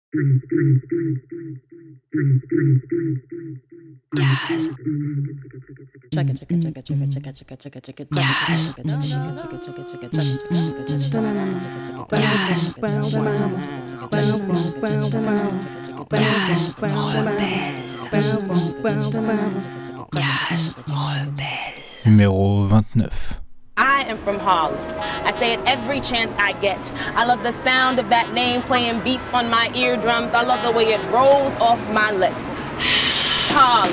Numéro 29. I am from Harlem. I say it every chance I get. I love the sound of that name playing beats on my eardrums. I love the way it rolls off my lips. Harlem.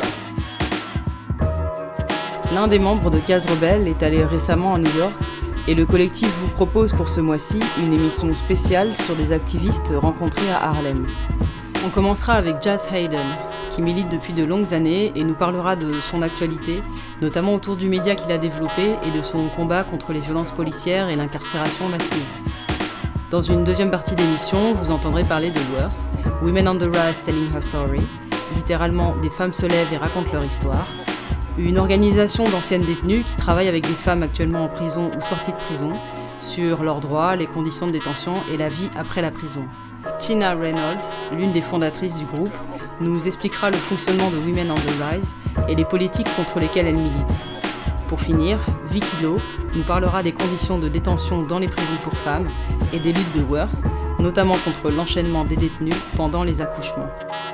L'un des membres de Caz Rebelle est allé récemment à New York et le collectif vous propose pour ce mois-ci une émission spéciale sur des activistes rencontrés à Harlem. On commencera avec Jaz Hayden, qui milite depuis de longues années et nous parlera de son actualité, notamment autour du média qu'il a développé et de son combat contre les violences policières et l'incarcération massive. Dans une deuxième partie d'émission, vous entendrez parler de Worth, Women on the Rise Telling Her Story, littéralement des femmes se lèvent et racontent leur histoire, une organisation d'anciennes détenues qui travaille avec des femmes actuellement en prison ou sorties de prison sur leurs droits, les conditions de détention et la vie après la prison. Tina Reynolds, l'une des fondatrices du groupe, nous expliquera le fonctionnement de Women on the Rise et les politiques contre lesquelles elle milite. Pour finir, Vicky Lowe nous parlera des conditions de détention dans les prisons pour femmes et des luttes de Worth, notamment contre l'enchaînement des détenus pendant les accouchements.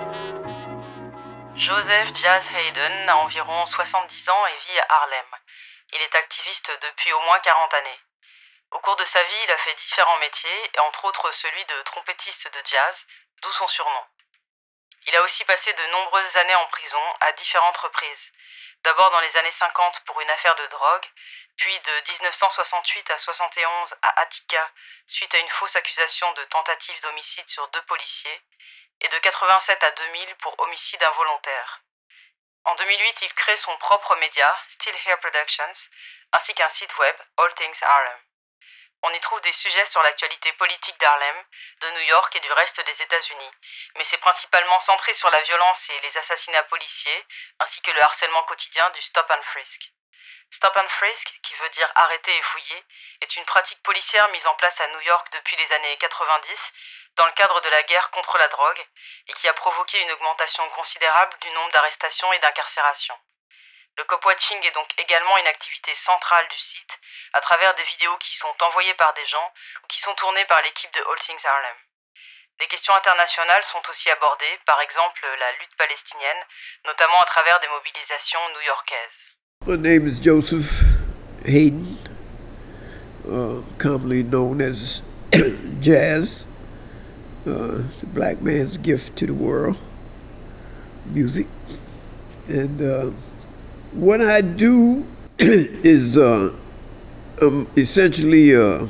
Joseph Jaz Hayden a environ 70 ans et vit à Harlem. Il est activiste depuis au moins 40 années. Au cours de sa vie, il a fait différents métiers, et entre autres celui de trompettiste de jazz, d'où son surnom. Il a aussi passé de nombreuses années en prison, à différentes reprises. D'abord dans les années 50 pour une affaire de drogue, puis de 1968 à 71 à Attica, suite à une fausse accusation de tentative d'homicide sur 2 policiers, et de 87 à 2000 pour homicide involontaire. En 2008, il crée son propre média, Still Here Productions, ainsi qu'un site web, All Things Harlem. On y trouve des sujets sur l'actualité politique d'Harlem, de New York et du reste des États-Unis, mais c'est principalement centré sur la violence et les assassinats policiers, ainsi que le harcèlement quotidien du Stop and Frisk. Stop and Frisk, qui veut dire arrêter et fouiller, est une pratique policière mise en place à New York depuis les années 90, dans le cadre de la guerre contre la drogue, et qui a provoqué une augmentation considérable du nombre d'arrestations et d'incarcérations. Le cop-watching est donc également une activité centrale du site, à travers des vidéos qui sont envoyées par des gens ou qui sont tournées par l'équipe de All Things Harlem. Des questions internationales sont aussi abordées, par exemple la lutte palestinienne, notamment à travers des mobilisations new-yorkaises. My name is Joseph Hayden, commonly known as Jazz. It's a black man's gift to the world, music. And what I do is I'm essentially an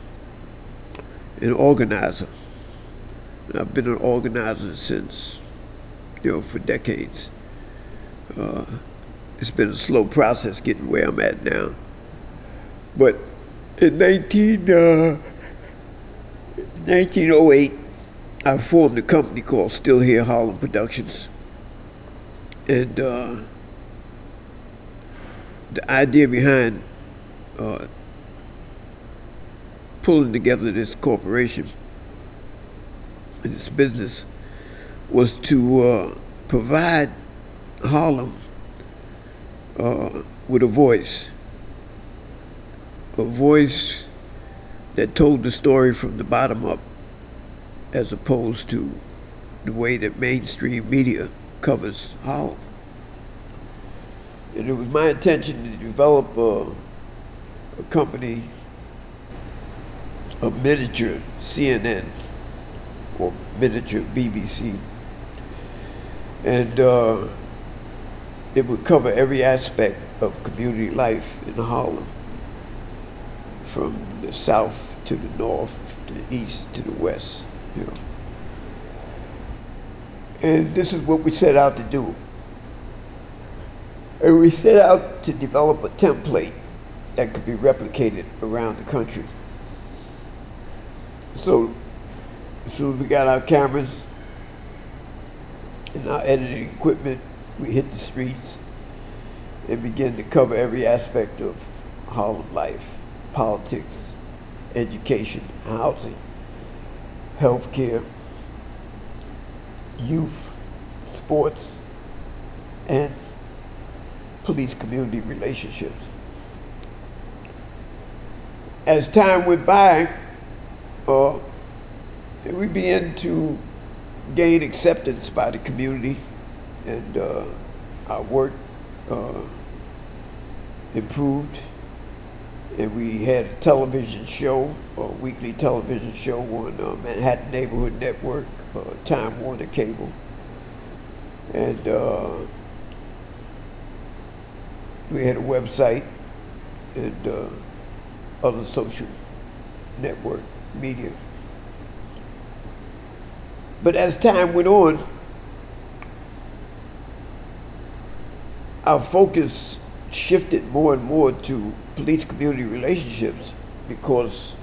organizer. I've been an organizer since, for decades. It's been a slow process getting where I'm at now. But in 1908, I formed a company called Still Here Harlem Productions. And the idea behind pulling together this corporation and this business was to provide Harlem with a voice that told the story from the bottom up, as opposed to the way that mainstream media covers Harlem. And it was my intention to develop a company, a miniature CNN or miniature BBC. And it would cover every aspect of community life in Harlem, from the south to the north, to the east to the west. And this is what we set out to do. And we set out to develop a template that could be replicated around the country. So as soon as we got our cameras and our editing equipment, we hit the streets and began to cover every aspect of Harlem life: politics, education, housing, healthcare, youth, sports, and police-community relationships. As time went by, we began to gain acceptance by the community, and our work improved. And we had a television show, a weekly television show on Manhattan Neighborhood Network, Time Warner Cable. And we had a website and other social network media. But as time went on, our focus shifted more and more to police-community relationships, because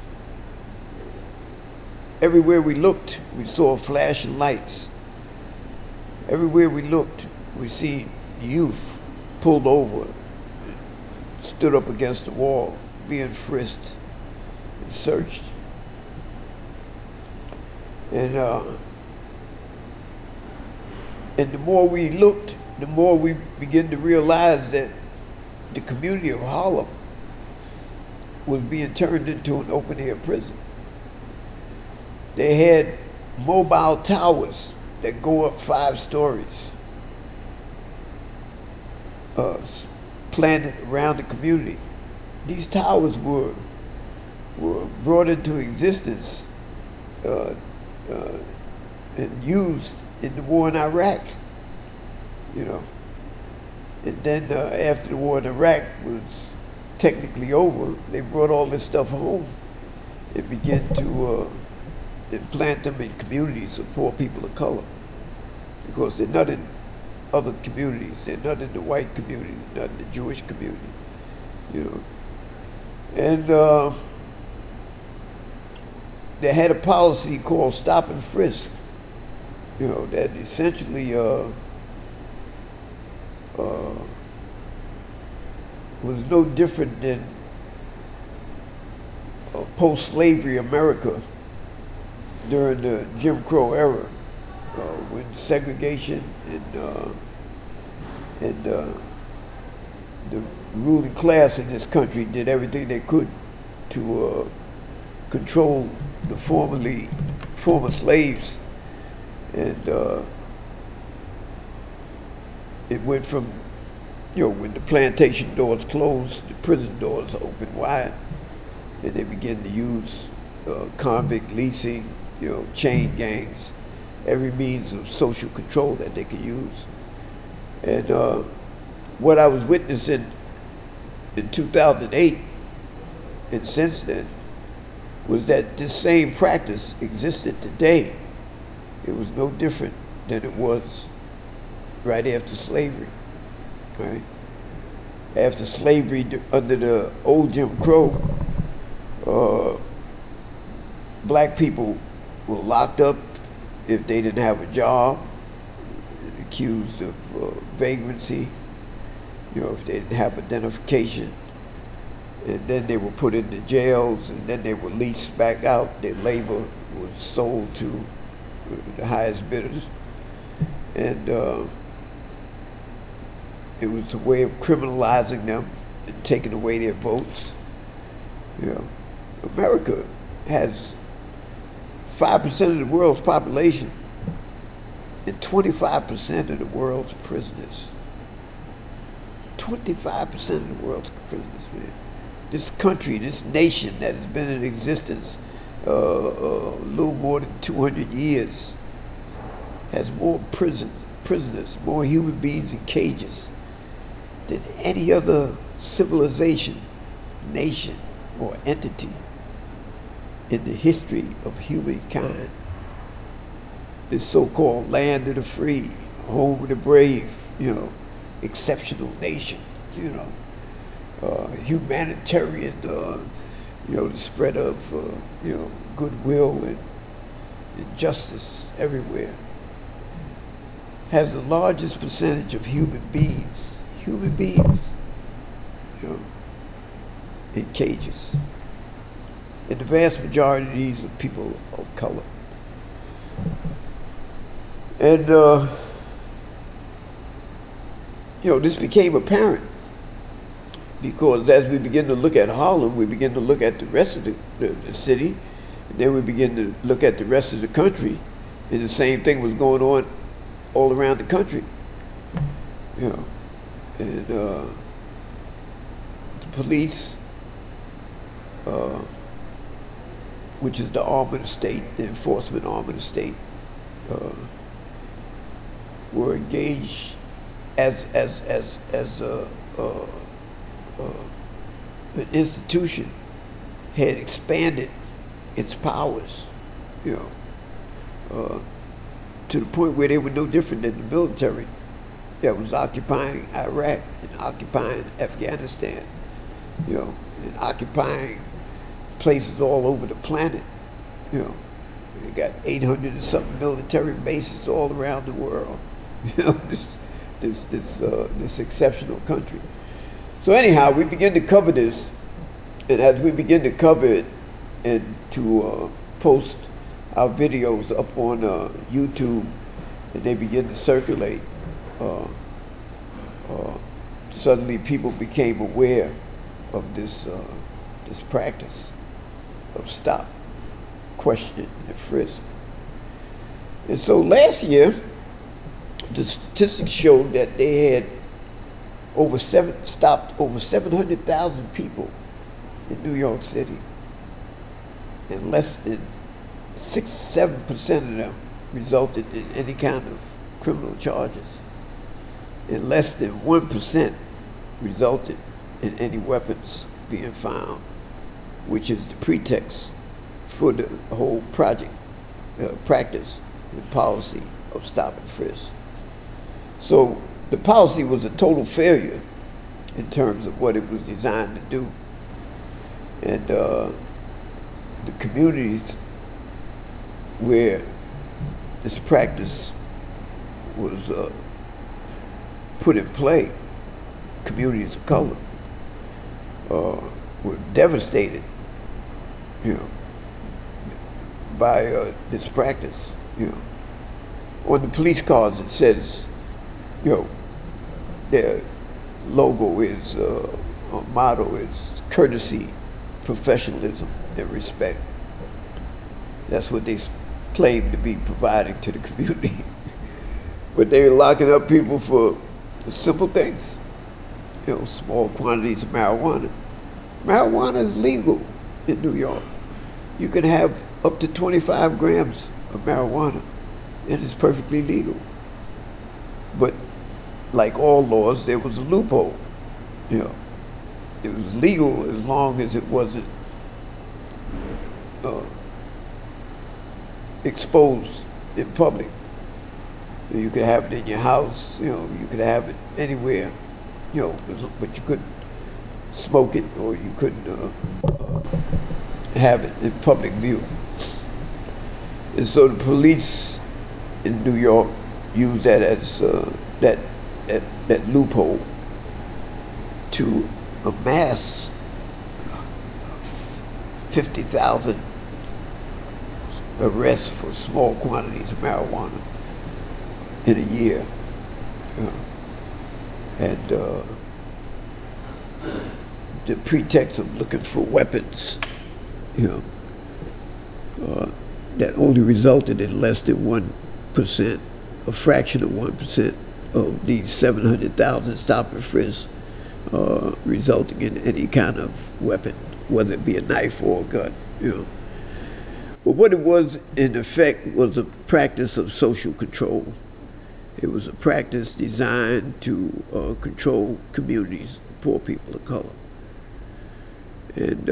everywhere we looked, we saw flashing lights. Everywhere we looked, we see youth pulled over, stood up against the wall, being frisked and searched. And the more we looked, the more we began to realize that the community of Harlem was being turned into an open-air prison. They had mobile towers that go up 5 stories, planted around the community. These towers were brought into existence and used in the war in Iraq, you know. And then after the war in Iraq was technically over, they brought all this stuff home and began to implant them in communities of poor people of color, because they're not in other communities. They're not in the white community, not in the Jewish community, you know. And they had a policy called stop and frisk, you know, that essentially was no different than post-slavery America during the Jim Crow era, when segregation and the ruling class in this country did everything they could to control the former slaves. And it went from, you know, when the plantation doors closed, the prison doors opened wide, and they began to use convict leasing, you know, chain gangs, every means of social control that they could use. And what I was witnessing in 2008 and since then was that this same practice existed today. It was no different than it was right after slavery, right? After slavery, under the old Jim Crow, black people were locked up if they didn't have a job, accused of vagrancy, you know, if they didn't have identification. And then they were put into jails, and then they were leased back out. Their labor was sold to the highest bidders. And it was a way of criminalizing them and taking away their votes. You know, America has 5% of the world's population and 25% of the world's prisoners. 25% of the world's prisoners, man. This country, this nation that has been in existence a little more than 200 years has more prisoners, more human beings in cages than any other civilization, nation, or entity in the history of humankind. This so-called land of the free, home of the brave, you know, exceptional nation, you know, humanitarian, you know, the spread of, you know, goodwill and justice everywhere, has the largest percentage of human beings, you know, in cages. And the vast majority of these are people of color. And, this became apparent because as we begin to look at Harlem, we begin to look at the rest of the city, and then we begin to look at the rest of the country, and the same thing was going on all around the country. And the police, which is the arm of the state, the enforcement arm of the state, were engaged as an institution had expanded its powers, to the point where they were no different than the military that was occupying Iraq and occupying Afghanistan, and occupying places all over the planet. They got 800 and something military bases all around the world. This exceptional country. So anyhow, we begin to cover this, and as we begin to cover it and to post our videos up on YouTube, and they begin to circulate, suddenly people became aware of this practice of stop, question, and frisk. And so last year, the statistics showed that they had stopped over 700,000 people in New York City, and less than 6-7% of them resulted in any kind of criminal charges, and less than 1% resulted in any weapons being found, which is the pretext for the whole practice and policy of stop and frisk. So the policy was a total failure in terms of what it was designed to do. And the communities where this practice was put in play, communities of color, were devastated, by this practice. On the police cars it says, their logo is, motto is courtesy, professionalism, and respect. That's what they claim to be providing to the community. But they were locking up people for simple things, small quantities of marijuana. Marijuana is legal in New York. You can have up to 25 grams of marijuana, and it's perfectly legal. But like all laws, there was a loophole. It was legal as long as it wasn't exposed in public. You could have it in your house, you could have it anywhere, but you couldn't smoke it, or you couldn't have it in public view. And so the police in New York used that as that loophole to amass 50,000 arrests for small quantities of marijuana in a year. And the pretext of looking for weapons, that only resulted in less than 1%, a fraction of 1% of these 700,000 stop and frisk resulting in any kind of weapon, whether it be a knife or a gun. But what it was, in effect, was a practice of social control. It was a practice designed to control communities of poor people of color. And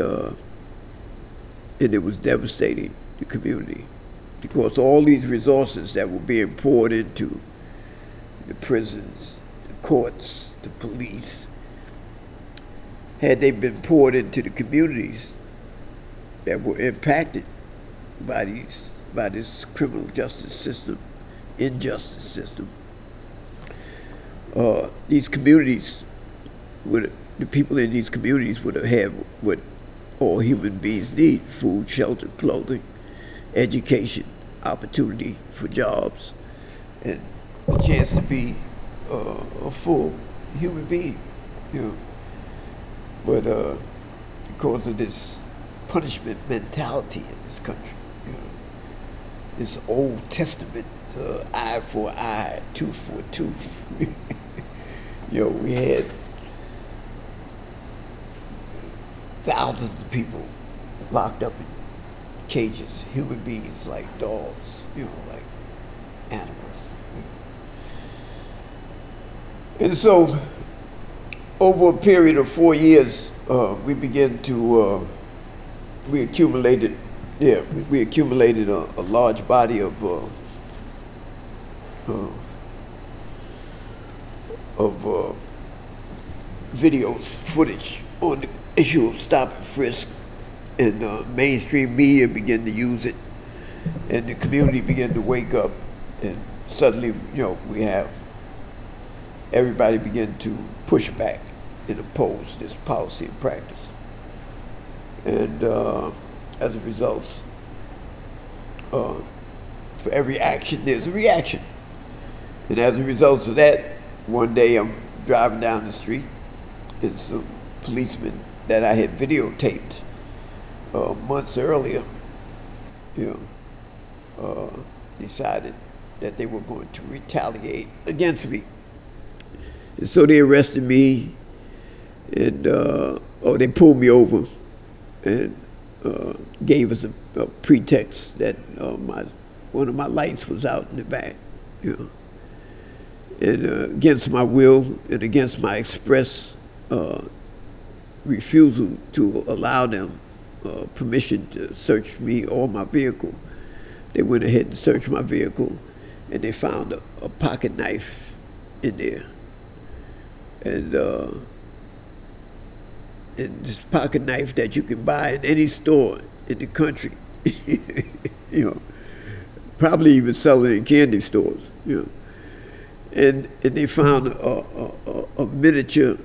it was devastating the community, because all these resources that were being poured into the prisons, the courts, the police, had they been poured into the communities that were impacted by this criminal justice system, injustice system, these communities the people in these communities would have had what all human beings need: food, shelter, clothing, education, opportunity for jobs, and a chance to be a full human being, you know. But because of this punishment mentality in this country, you know, this Old Testament eye for eye, tooth for tooth. You know, we had thousands of people locked up in cages, human beings like dogs, you know, like animals. You know. And so, over a period of 4 years, we began to, we accumulated a large body of videos, footage on the issue of stop and frisk, and mainstream media began to use it, and the community began to wake up, and suddenly, you know, we have everybody begin to push back and oppose this policy and practice. And as a result, for every action, there's a reaction. And as a result of that, one day I'm driving down the street, and some policemen that I had videotaped months earlier, you know, decided that they were going to retaliate against me. And so they arrested me, and they pulled me over, and gave us a pretext that one of my lights was out in the back, you know. And against my will and against my express refusal to allow them permission to search me or my vehicle, they went ahead and searched my vehicle, and they found a pocket knife in there. And this pocket knife that you can buy in any store in the country, you know, probably even sell it in candy stores, you know. And they found a miniature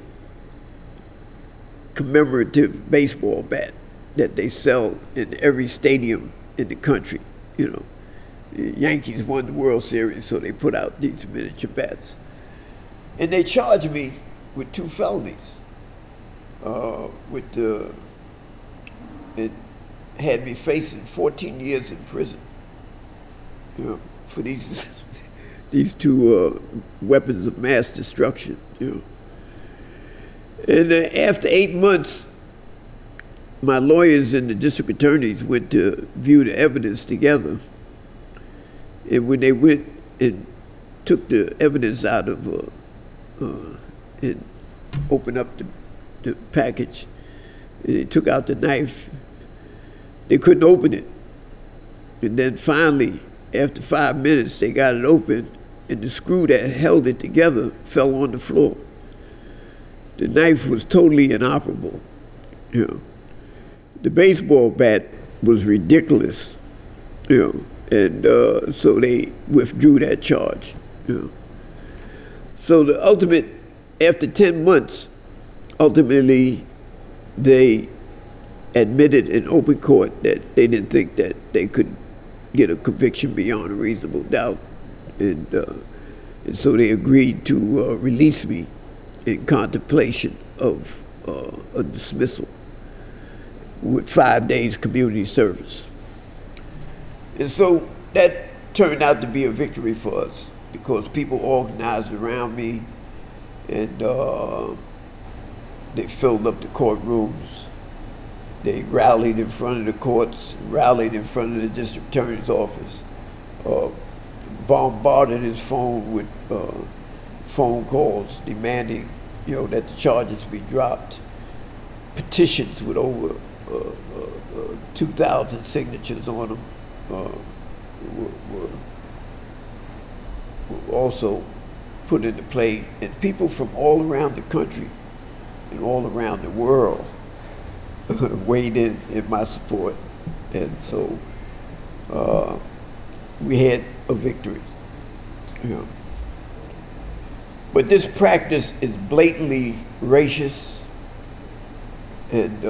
commemorative baseball bat that they sell in every stadium in the country, you know. The Yankees won the World Series, so they put out these miniature bats. And they charged me with 2 felonies. It had me facing 14 years in prison, you know, for these 2 weapons of mass destruction, you know. And after 8 months, my lawyers and the district attorneys went to view the evidence together. And when they went and took the evidence out of and opened up the package, and they took out the knife, they couldn't open it. And then finally, after 5 minutes, they got it open, and the screw that held it together fell on the floor. The knife was totally inoperable, you know. The baseball bat was ridiculous, you know, and so they withdrew that charge, you know. So the ultimate, after 10 months, ultimately they admitted in open court that they didn't think that they could get a conviction beyond a reasonable doubt, and so they agreed to release me in contemplation of a dismissal with 5 days community service. And so that turned out to be a victory for us, because people organized around me, and they filled up the courtrooms. They rallied in front of the courts, rallied in front of the district attorney's office, bombarded his phone with phone calls demanding, you know, that the charges be dropped. Petitions with over 2,000 signatures on them were also put into play, and people from all around the country and all around the world weighed in my support, and so we had a victory. You know. But this practice is blatantly racist, and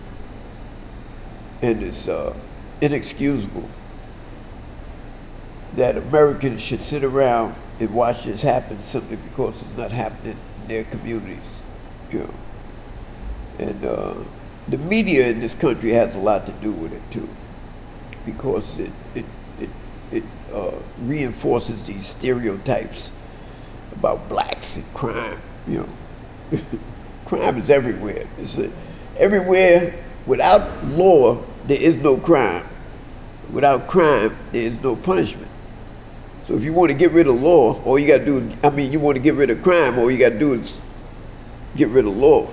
it's inexcusable. that Americans should sit around and watch this happen simply because it's not happening in their communities. You know. And the media in this country has a lot to do with it too, because it reinforces these stereotypes about blacks and crime. You know, crime is everywhere. Everywhere. Without law, there is no crime. Without crime, there is no punishment. So if you want to get rid of law, all you got to do is, you want to get rid of crime, all you got to do is get rid of law.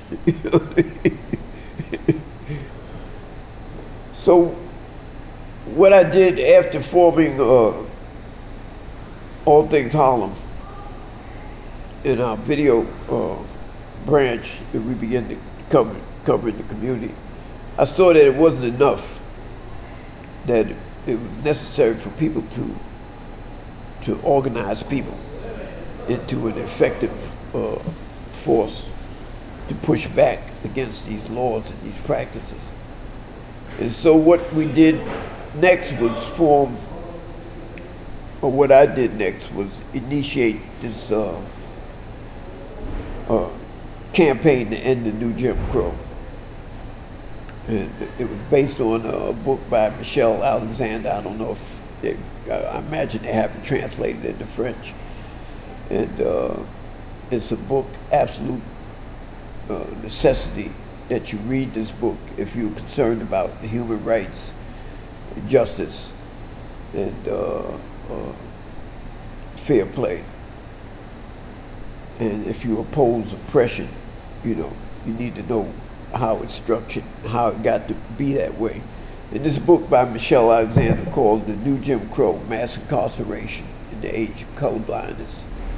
So what I did after forming All Things Harlem in our video branch that we began to cover in the community, I saw that it wasn't enough, that it was necessary for people to organize people into an effective force to push back against these laws and these practices. And so what we did next was what I did next was initiate this campaign to end the new Jim Crow. And it was based on a book by Michelle Alexander. I don't know if I imagine they haven't translated it into French. And it's a book, absolute necessity that you read this book if you're concerned about human rights, justice, and fair play. And if you oppose oppression, you need to know how it's structured, how it got to be that way. In this book by Michelle Alexander called The New Jim Crow, Mass Incarceration in the Age of Colorblindness,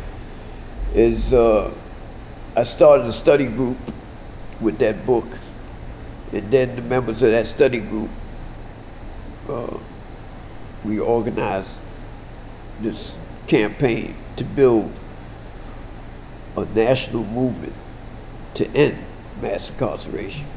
I started a study group with that book, and then the members of that study group, we organized this campaign to build a national movement to end mass incarceration.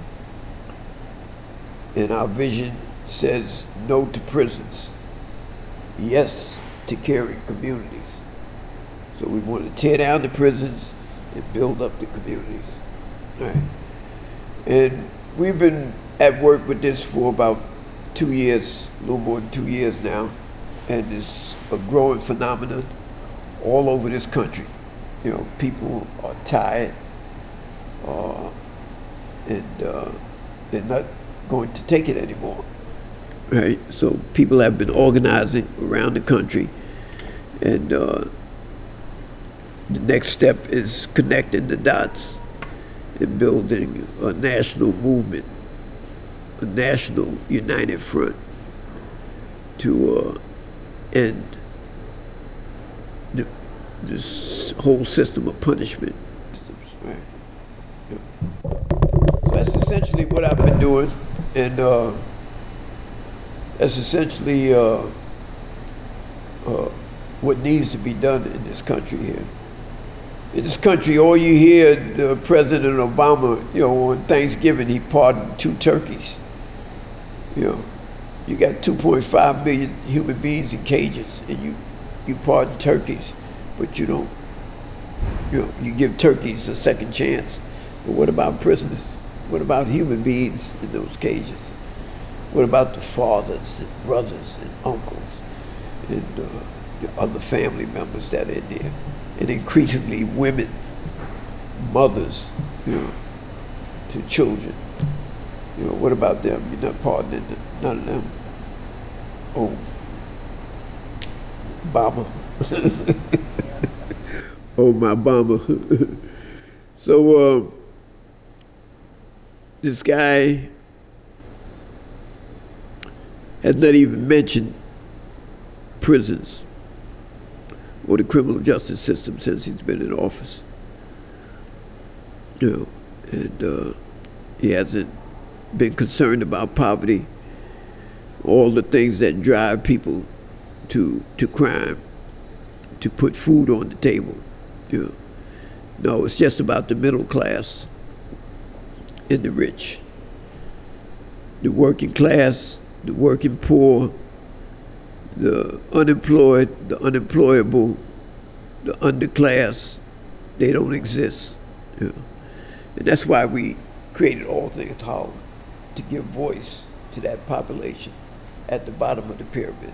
And our vision says no to prisons, yes to caring communities. So we want to tear down the prisons and build up the communities. All right. And we've been at work with this for about 2 years, a little more than 2 years now, and it's a growing phenomenon all over this country. People are tired, and they're not going to take it anymore. Right? So people have been organizing around the country, and the next step is connecting the dots and building a national movement, a national united front to end this whole system of punishment. Right? Yeah. So that's essentially what I've been doing, and that's essentially what needs to be done in this country here. In this country, all you hear, President Obama, on Thanksgiving, he pardoned 2 turkeys. You got 2.5 million human beings in cages, and you pardon turkeys, but you don't. You give turkeys a second chance. But what about prisoners? What about human beings in those cages? What about the fathers and brothers and uncles and the other family members that are in there? And increasingly women, mothers, to children. What about them? You're not pardoning them, none of them. Oh, Obama. Oh, my Obama. So this guy has not even mentioned prisons or the criminal justice system since he's been in office. And he hasn't been concerned about poverty, all the things that drive people to crime, to put food on the table. No, it's just about the middle class and the rich. The working class, the working poor, the unemployed, the unemployable, the underclass, they don't exist. You know? And that's why we created All Things Harlem, to give voice to that population at the bottom of the pyramid.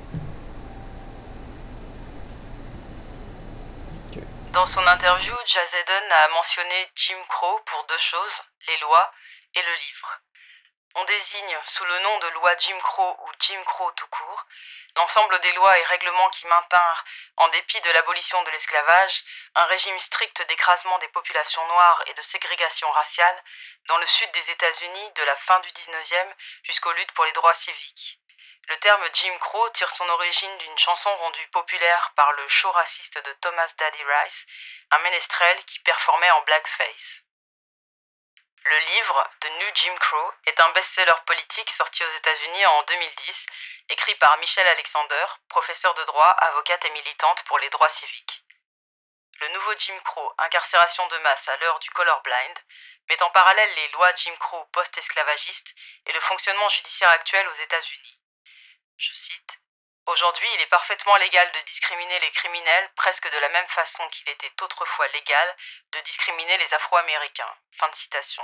Okay. Dans son interview, Jaz Eden a mentionné Jim Crow pour deux choses, les lois et le livre. On désigne sous le nom de loi Jim Crow ou Jim Crow tout court l'ensemble des lois et règlements qui maintinrent, en dépit de l'abolition de l'esclavage, un régime strict d'écrasement des populations noires et de ségrégation raciale dans le sud des États-Unis de la fin du 19e jusqu'aux luttes pour les droits civiques. Le terme Jim Crow tire son origine d'une chanson rendue populaire par le show raciste de Thomas Daddy Rice, un ménestrel qui performait en blackface. Le livre The New Jim Crow est un best-seller politique sorti aux États-Unis en 2010, écrit par Michelle Alexander, professeure de droit, avocate et militante pour les droits civiques. Le nouveau Jim Crow, incarcération de masse à l'heure du colorblind, met en parallèle les lois Jim Crow post-esclavagistes et le fonctionnement judiciaire actuel aux États-Unis. Je cite, « Aujourd'hui, il est parfaitement légal de discriminer les criminels presque de la même façon qu'il était autrefois légal de discriminer les Afro-Américains. » Fin de citation.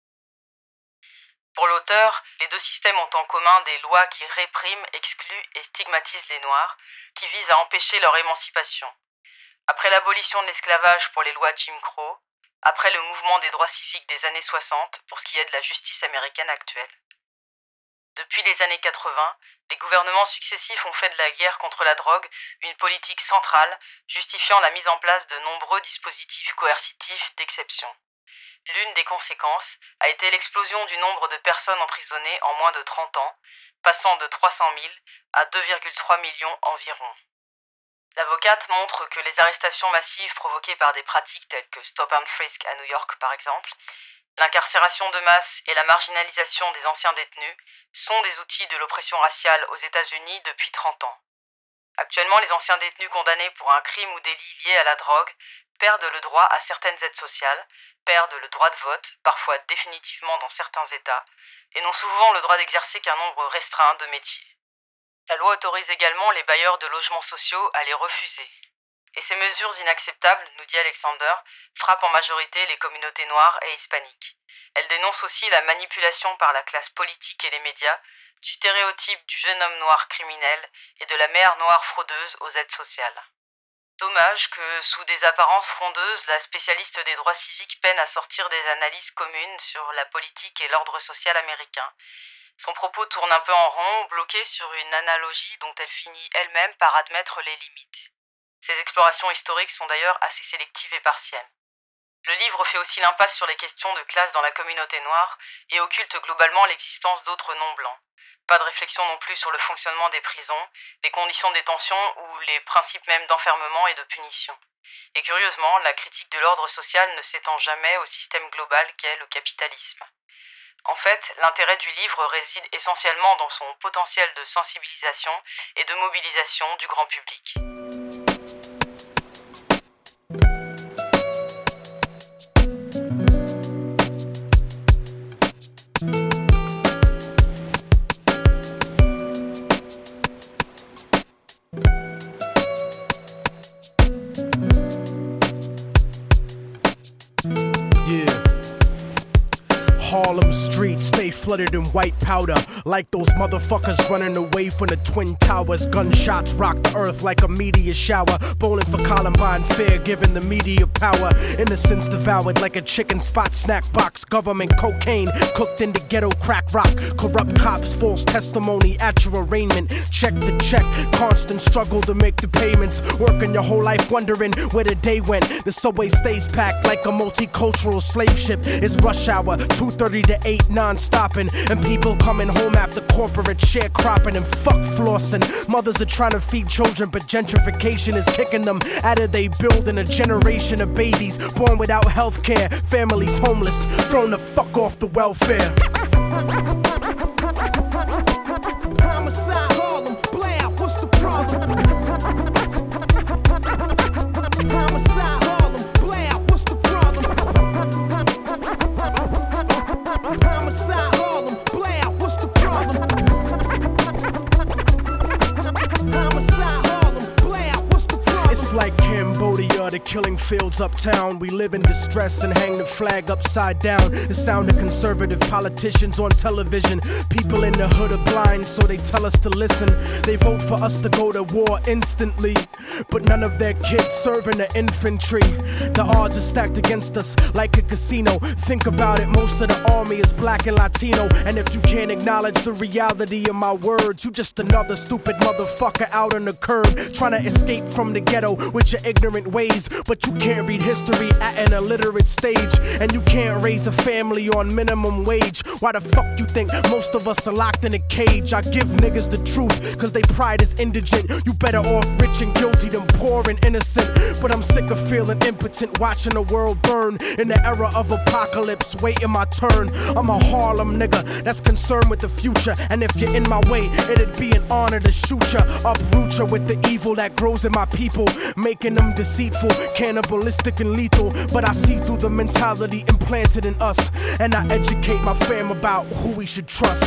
Pour l'auteur, les deux systèmes ont en commun des lois qui répriment, excluent et stigmatisent les Noirs, qui visent à empêcher leur émancipation. Après l'abolition de l'esclavage pour les lois Jim Crow, après le mouvement des droits civiques des années 60 pour ce qui est de la justice américaine actuelle. Depuis les années 80, les gouvernements successifs ont fait de la guerre contre la drogue une politique centrale, justifiant la mise en place de nombreux dispositifs coercitifs d'exception. L'une des conséquences a été l'explosion du nombre de personnes emprisonnées en moins de 30 ans, passant de 300 000 à 2,3 millions environ. L'avocate montre que les arrestations massives provoquées par des pratiques telles que stop and frisk à New York par exemple, l'incarcération de masse et la marginalisation des anciens détenus sont des outils de l'oppression raciale aux États-Unis depuis 30 ans. Actuellement, les anciens détenus condamnés pour un crime ou délit lié à la drogue perdent le droit à certaines aides sociales, perdent le droit de vote, parfois définitivement dans certains États, et n'ont souvent le droit d'exercer qu'un nombre restreint de métiers. La loi autorise également les bailleurs de logements sociaux à les refuser. Et ces mesures inacceptables, nous dit Alexander, frappent en majorité les communautés noires et hispaniques. Elle dénonce aussi la manipulation par la classe politique et les médias du stéréotype du jeune homme noir criminel et de la mère noire fraudeuse aux aides sociales. Dommage que, sous des apparences frondeuses, la spécialiste des droits civiques peine à sortir des analyses communes sur la politique et l'ordre social américain. Son propos tourne un peu en rond, bloqué sur une analogie dont elle finit elle-même par admettre les limites. Ces explorations historiques sont d'ailleurs assez sélectives et partielles. Le livre fait aussi l'impasse sur les questions de classe dans la communauté noire et occulte globalement l'existence d'autres non-blancs. Pas de réflexion non plus sur le fonctionnement des prisons, les conditions de détention ou les principes même d'enfermement et de punition. Et curieusement, la critique de l'ordre social ne s'étend jamais au système global qu'est le capitalisme. En fait, l'intérêt du livre réside essentiellement dans son potentiel de sensibilisation et de mobilisation du grand public. Harlem streets stay flooded in white powder, like those motherfuckers running away from the Twin Towers. Gunshots rock the earth like a meteor shower. Bowling for Columbine, fear giving the media power. Innocence devoured like a chicken spot snack box. Government cocaine cooked into ghetto crack rock. Corrupt cops, false testimony at your arraignment. Check the check, constant struggle to make the payments. Working your whole life wondering where the day went. The subway stays packed like a multicultural slave ship. It's rush hour, 2:30 to 8 non-stopping. And people coming home after corporate sharecropping and fuck flossing. Mothers are trying to feed children, but gentrification is kicking them out of they building. A generation of babies born without health care. Families homeless, thrown the fuck off the welfare. Homicide, Harlem, blam, what's the problem? Homicide, Harlem, blam, what's the problem? Homicide, Harlem, blam, what's the problem? Started killing fields uptown. We live in distress and hang the flag upside down. The sound of conservative politicians on television. People in the hood are blind, so they tell us to listen. They vote for us to go to war instantly, but none of their kids serve in the infantry. The odds are stacked against us like a casino. Think about it, most of the army is black and Latino. And if you can't acknowledge the reality of my words, you just another stupid motherfucker out on the curb, trying to escape from the ghetto with your ignorant ways. But you can't read history at an illiterate stage, and you can't raise a family on minimum wage. Why the fuck you think most of us are locked in a cage? I give niggas the truth, cause they pride is indigent. You better off rich and guilty than poor and innocent. But I'm sick of feeling impotent, watching the world burn in the era of apocalypse, waiting my turn. I'm a Harlem nigga that's concerned with the future, and if you're in my way, it'd be an honor to shoot ya, uproot ya with the evil that grows in my people, making them deceitful, cannibalistic and lethal. But I see through the mentality implanted in us, and I educate my fam about who we should trust.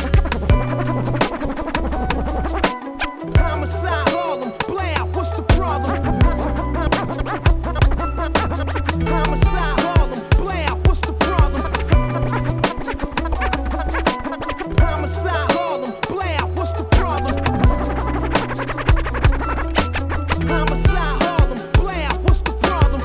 Homicide, Harlem, blam, what's the problem? Homicide, Harlem, blam, what's the problem? Homicide, Harlem, blam, what's the problem? Homicide, Harlem, blam, what's the problem?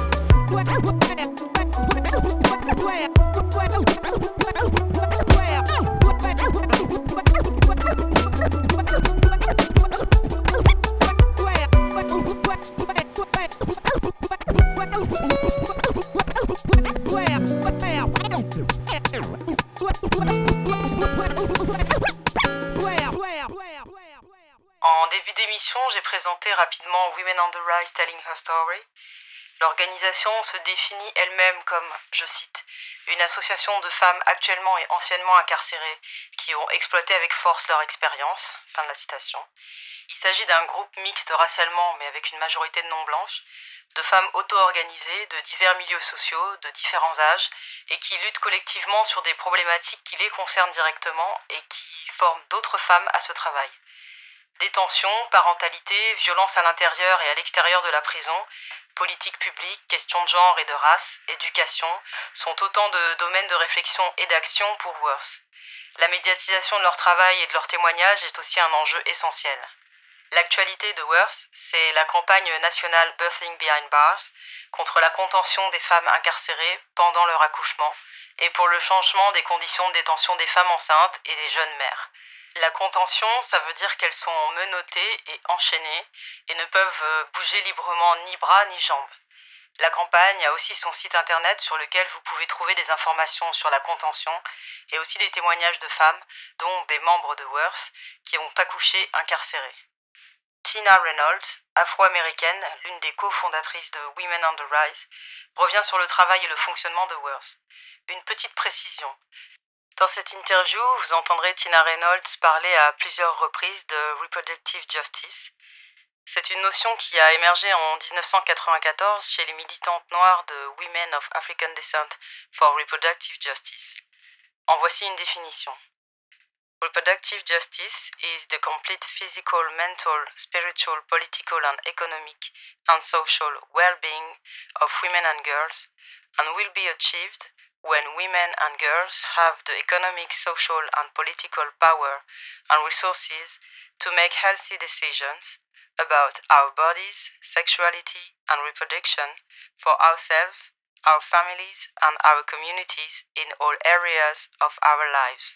En début d'émission, j'ai présenté rapidement Women on the Rise Telling Her Story. L'organisation se définit elle-même comme, je cite, une association de femmes actuellement et anciennement incarcérées qui ont exploité avec force leur expérience. Fin de la citation. Il s'agit d'un groupe mixte racialement mais avec une majorité de non-blanches, de femmes auto-organisées de divers milieux sociaux, de différents âges et qui luttent collectivement sur des problématiques qui les concernent directement et qui forment d'autres femmes à ce travail. Détention, parentalité, violence à l'intérieur et à l'extérieur de la prison, politique publique, questions de genre et de race, éducation, sont autant de domaines de réflexion et d'action pour Worth. La médiatisation de leur travail et de leurs témoignages est aussi un enjeu essentiel. L'actualité de Worth, c'est la campagne nationale Birthing Behind Bars contre la contention des femmes incarcérées pendant leur accouchement et pour le changement des conditions de détention des femmes enceintes et des jeunes mères. La contention, ça veut dire qu'elles sont menottées et enchaînées et ne peuvent bouger librement ni bras ni jambes. La campagne a aussi son site internet sur lequel vous pouvez trouver des informations sur la contention et aussi des témoignages de femmes, dont des membres de Worth, qui ont accouché incarcérées. Tina Reynolds, afro-américaine, l'une des cofondatrices de Women on the Rise, revient sur le travail et le fonctionnement de Worth. Une petite précision. Dans cette interview, vous entendrez Tina Reynolds parler à plusieurs reprises de Reproductive Justice. C'est une notion qui a émergé en 1994 chez les militantes noires de Women of African Descent for Reproductive Justice. En voici une définition. Reproductive justice is the complete physical, mental, spiritual, political and economic and social well-being of women and girls and will be achieved when women and girls have the economic, social and political power and resources to make healthy decisions about our bodies, sexuality and reproduction for ourselves, our families and our communities in all areas of our lives.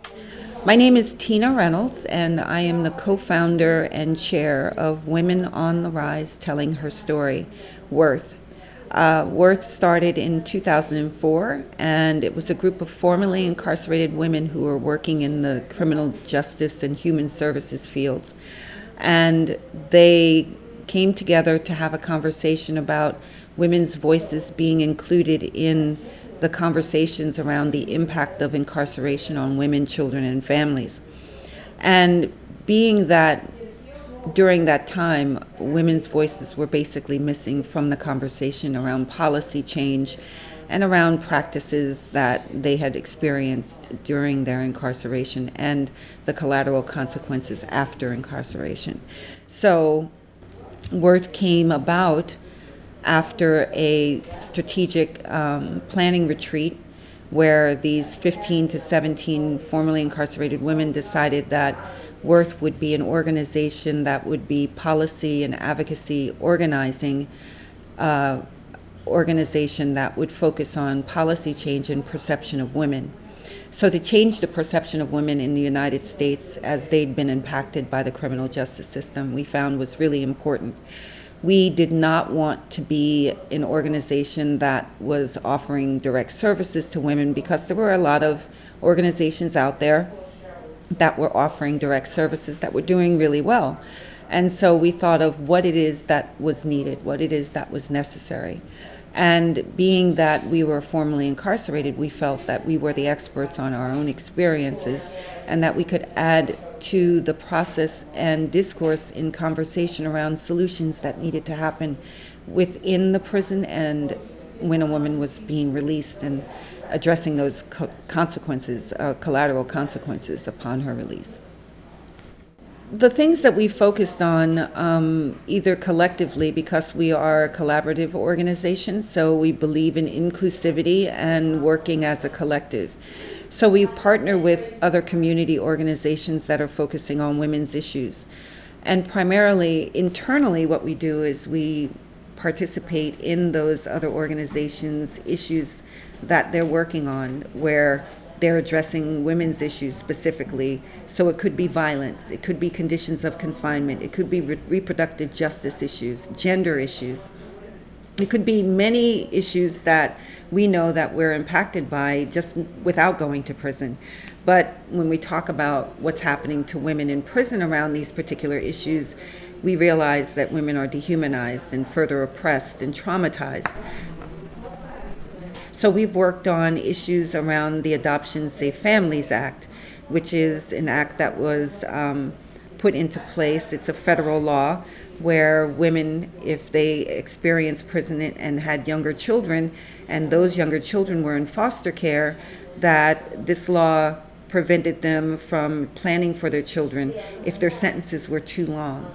My name is Tina Reynolds, and I am the co-founder and chair of Women on the Rise Telling Her Story, Worth. Worth started in 2004, and it was a group of formerly incarcerated women who were working in the criminal justice and human services fields. And they came together to have a conversation about women's voices being included in the conversations around the impact of incarceration on women, children, and families. And being that during that time, women's voices were basically missing from the conversation around policy change and around practices that they had experienced during their incarceration and the collateral consequences after incarceration. So Worth came about after a strategic planning retreat where these 15 to 17 formerly incarcerated women decided that Worth would be an organization that would be policy and advocacy organizing organization that would focus on policy change and perception of women. So to change the perception of women in the United States as they'd been impacted by the criminal justice system, we found was really important. We did not want to be an organization that was offering direct services to women because there were a lot of organizations out there that were offering direct services that were doing really well. And so we thought of what it is that was needed, what it is that was necessary. And being that we were formerly incarcerated, we felt that we were the experts on our own experiences and that we could add to the process and discourse in conversation around solutions that needed to happen within the prison and when a woman was being released and addressing those consequences, collateral consequences upon her release. The things that we focused on, either collectively, because we are a collaborative organization, so we believe in inclusivity and working as a collective. So we partner with other community organizations that are focusing on women's issues. And primarily, internally, what we do is we participate in those other organizations' issues that they're working on, where they're addressing women's issues specifically. So it could be violence, it could be conditions of confinement, it could be reproductive justice issues, gender issues. It could be many issues that we know that we're impacted by just without going to prison. But when we talk about what's happening to women in prison around these particular issues, we realize that women are dehumanized and further oppressed and traumatized. So we've worked on issues around the Adoption Safe Families Act, which is an act that was put into place. It's a federal law where women, if they experienced imprisonment and had younger children, and those younger children were in foster care, that this law prevented them from planning for their children if their sentences were too long.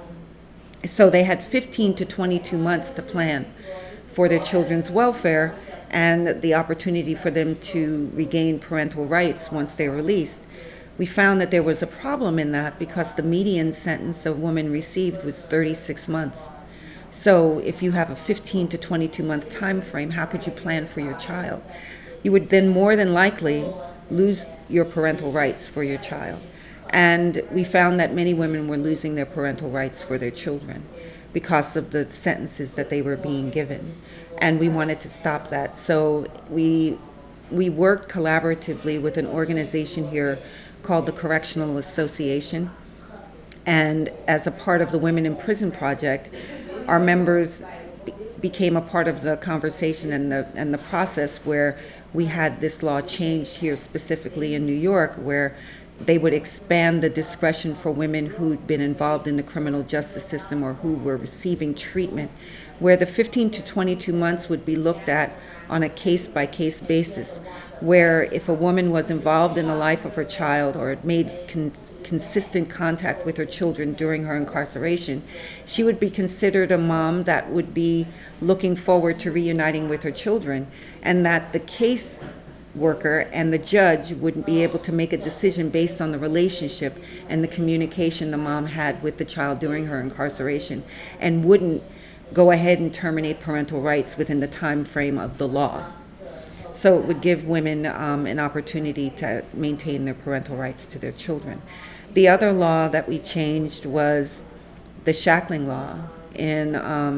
So they had 15 to 22 months to plan for their children's welfare and the opportunity for them to regain parental rights once they're released. We found that there was a problem in that because the median sentence a woman received was 36 months. So if you have a 15 to 22 month time frame, how could you plan for your child? You would then more than likely lose your parental rights for your child. And we found that many women were losing their parental rights for their children because of the sentences that they were being given. And we wanted to stop that. So we worked collaboratively with an organization here called the Correctional Association. And as a part of the Women in Prison Project, our members became a part of the conversation and the process where we had this law changed here specifically in New York, where they would expand the discretion for women who'd been involved in the criminal justice system or who were receiving treatment, where the 15 to 22 months would be looked at on a case-by-case basis, where if a woman was involved in the life of her child or made consistent contact with her children during her incarceration, she would be considered a mom that would be looking forward to reuniting with her children, and that the case worker and the judge would be able to make a decision based on the relationship and the communication the mom had with the child during her incarceration, and wouldn't go ahead and terminate parental rights within the time frame of the law. So it would give women an opportunity to maintain their parental rights to their children. The other law that we changed was the shackling law. In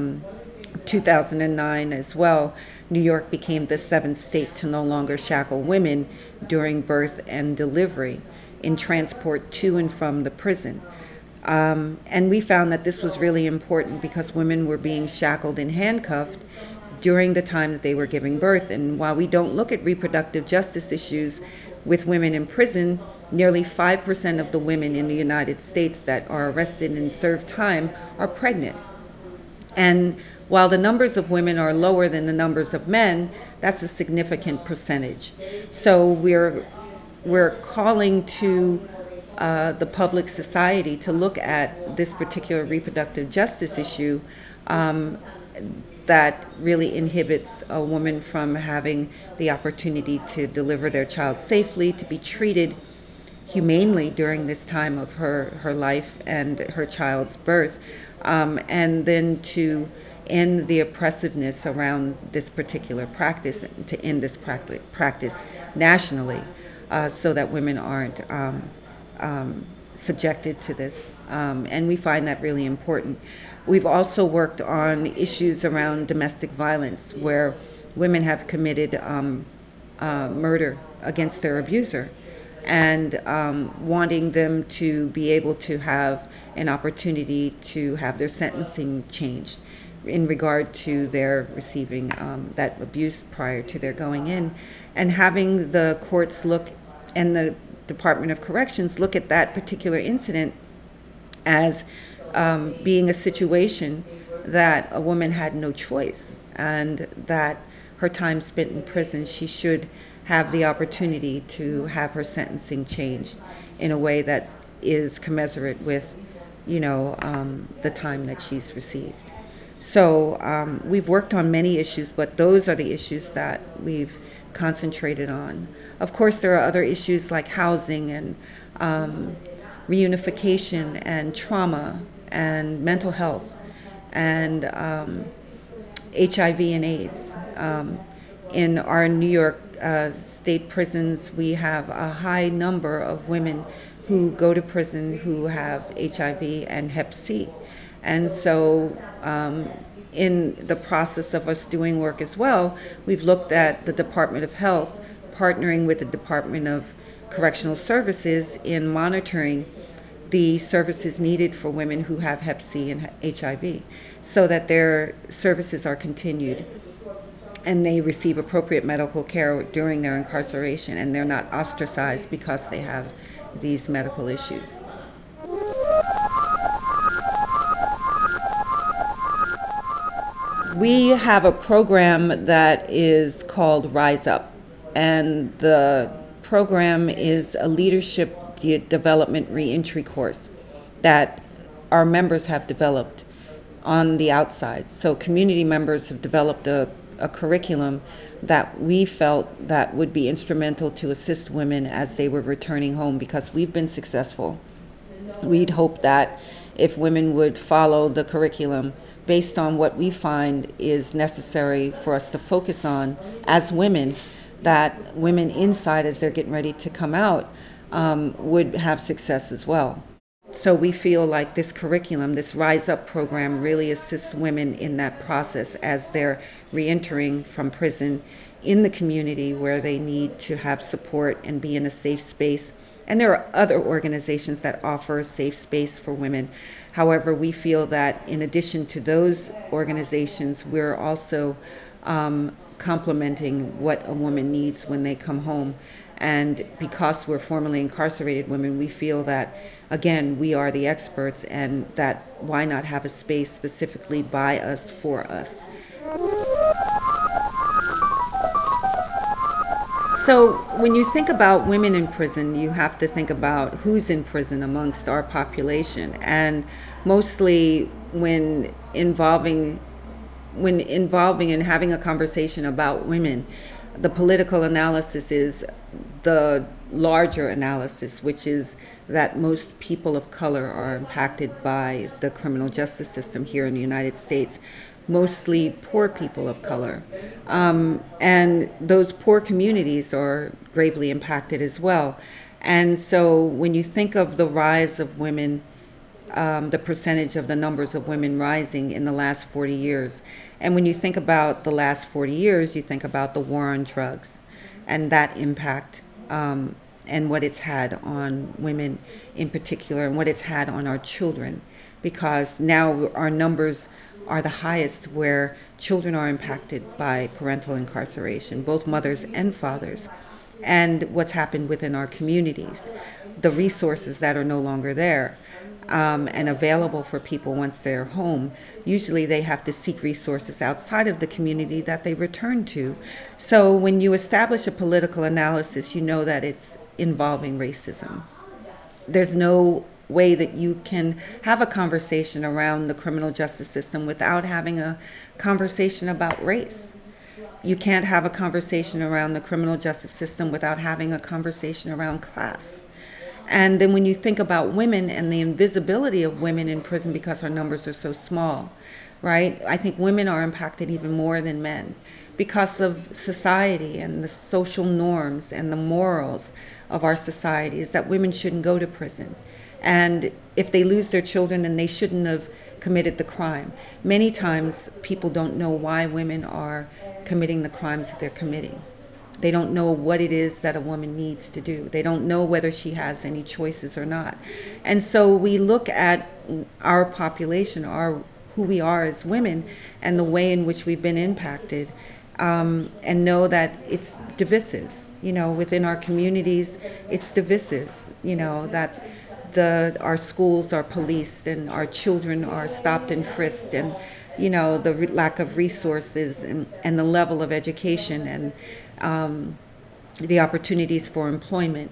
2009 as well, New York became the 7th state to no longer shackle women during birth and delivery in transport to and from the prison. And we found that this was really important because women were being shackled and handcuffed during the time that they were giving birth. And while we don't look at reproductive justice issues with women in prison, nearly 5% of the women in the United States that are arrested and serve time are pregnant. And while the numbers of women are lower than the numbers of men, that's a significant percentage. So we're calling to the public society to look at this particular reproductive justice issue. that really inhibits a woman from having the opportunity to deliver their child safely, to be treated humanely during this time of her life and her child's birth, and then to end the oppressiveness around this particular practice, to end this practice nationally, so that women aren't subjected to this. And we find that really important. We've also worked on issues around domestic violence, where women have committed murder against their abuser, and wanting them to be able to have an opportunity to have their sentencing changed in regard to their receiving that abuse prior to their going in, and having the courts look and the Department of Corrections look at that particular incident as being a situation that a woman had no choice, and that her time spent in prison, she should have the opportunity to have her sentencing changed in a way that is commensurate with, the time that she's received. So we've worked on many issues, but those are the issues that we've concentrated on. Of course, there are other issues like housing and reunification and trauma and mental health and HIV and AIDS. In our New York state prisons, we have a high number of women who go to prison who have HIV and Hep C. And so in the process of us doing work as well, we've looked at the Department of Health partnering with the Department of Correctional Services in monitoring the services needed for women who have Hep C and HIV, so that their services are continued and they receive appropriate medical care during their incarceration, and they're not ostracized because they have these medical issues. We have a program that is called Rise Up, and the program is a leadership development reentry course that our members have developed on the outside. So community members have developed a curriculum that we felt that would be instrumental to assist women as they were returning home, because we've been successful. We'd hope that if women would follow the curriculum based on what we find is necessary for us to focus on as women, that women inside, as they're getting ready to come out, would have success as well. So we feel like this curriculum, this Rise Up program, really assists women in that process as they're reentering from prison in the community where they need to have support and be in a safe space. And there are other organizations that offer a safe space for women. However, we feel that in addition to those organizations, we're also complementing what a woman needs when they come home. And because we're formerly incarcerated women, we feel that, again, we are the experts, and that why not have a space specifically by us, for us. So when you think about women in prison, you have to think about who's in prison amongst our population. And mostly when involving and having a conversation about women, the political analysis is the larger analysis, which is that most people of color are impacted by the criminal justice system here in the United States, mostly poor people of color. And those poor communities are gravely impacted as well. And so when you think of the rise of women, the percentage of the numbers of women rising in the last 40 years, and when you think about the last 40 years, you think about the war on drugs and that impact, and what it's had on women in particular, and what it's had on our children, because now our numbers are the highest where children are impacted by parental incarceration, both mothers and fathers, and what's happened within our communities, the resources that are no longer there and available for people once they're home. Usually they have to seek resources outside of the community that they return to. So when you establish a political analysis, you know that it's involving racism. There's no way that you can have a conversation around the criminal justice system without having a conversation about race. You can't have a conversation around the criminal justice system without having a conversation around class. And then when you think about women and the invisibility of women in prison because our numbers are so small, right? I think women are impacted even more than men because of society and the social norms and the morals of our society is that women shouldn't go to prison. And if they lose their children, then they shouldn't have committed the crime. Many times people don't know why women are committing the crimes that they're committing. They don't know what it is that a woman needs to do. They don't know whether she has any choices or not. And so we look at our population, who we are as women, and the way in which we've been impacted, and know that it's divisive. Within our communities, it's divisive. That our schools are policed and our children are stopped and frisked, and the lack of resources and the level of education and the opportunities for employment.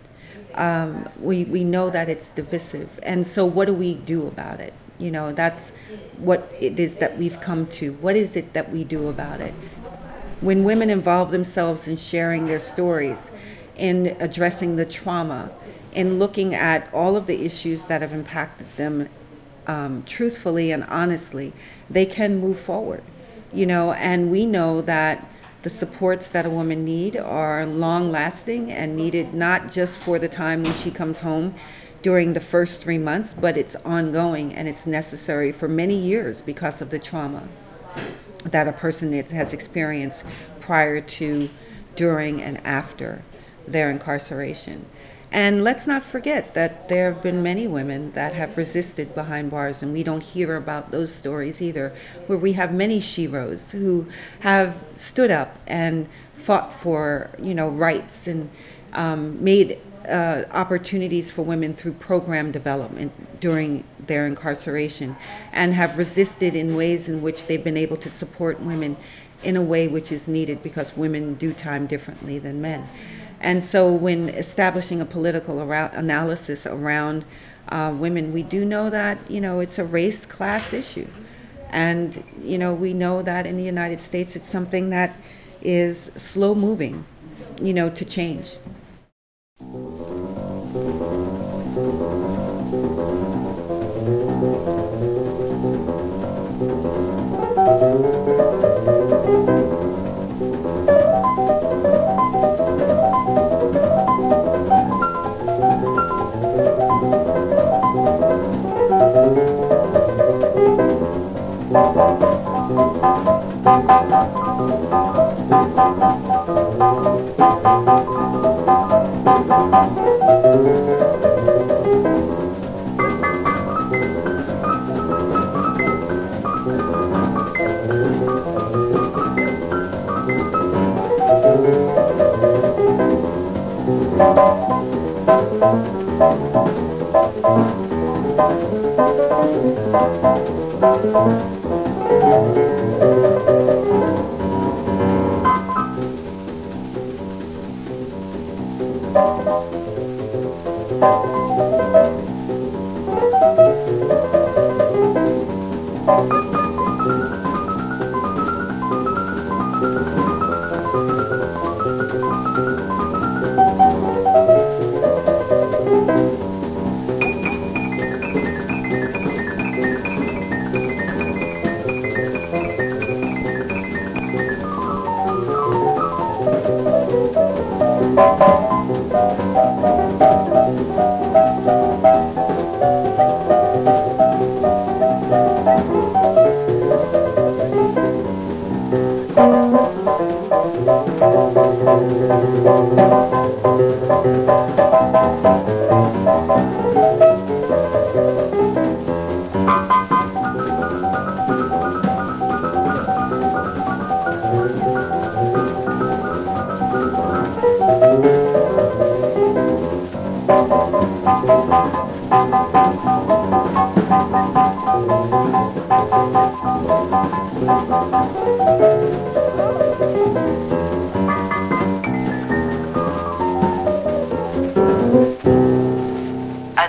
We know that it's divisive. And so what do we do about it? That's what it is that we've come to. What is it that we do about it? When women involve themselves in sharing their stories, in addressing the trauma, in looking at all of the issues that have impacted them truthfully and honestly, they can move forward. And we know that the supports that a woman need are long-lasting and needed not just for the time when she comes home during the first 3 months, but it's ongoing and it's necessary for many years because of the trauma that a person has experienced prior to, during, and after their incarceration. And let's not forget that there have been many women that have resisted behind bars, and we don't hear about those stories either, where we have many sheroes who have stood up and fought for, rights and made opportunities for women through program development during their incarceration, and have resisted in ways in which they've been able to support women in a way which is needed because women do time differently than men. And so when establishing a political analysis around women, we do know that, it's a race-class issue. And, we know that in the United States, it's something that is slow-moving, to change.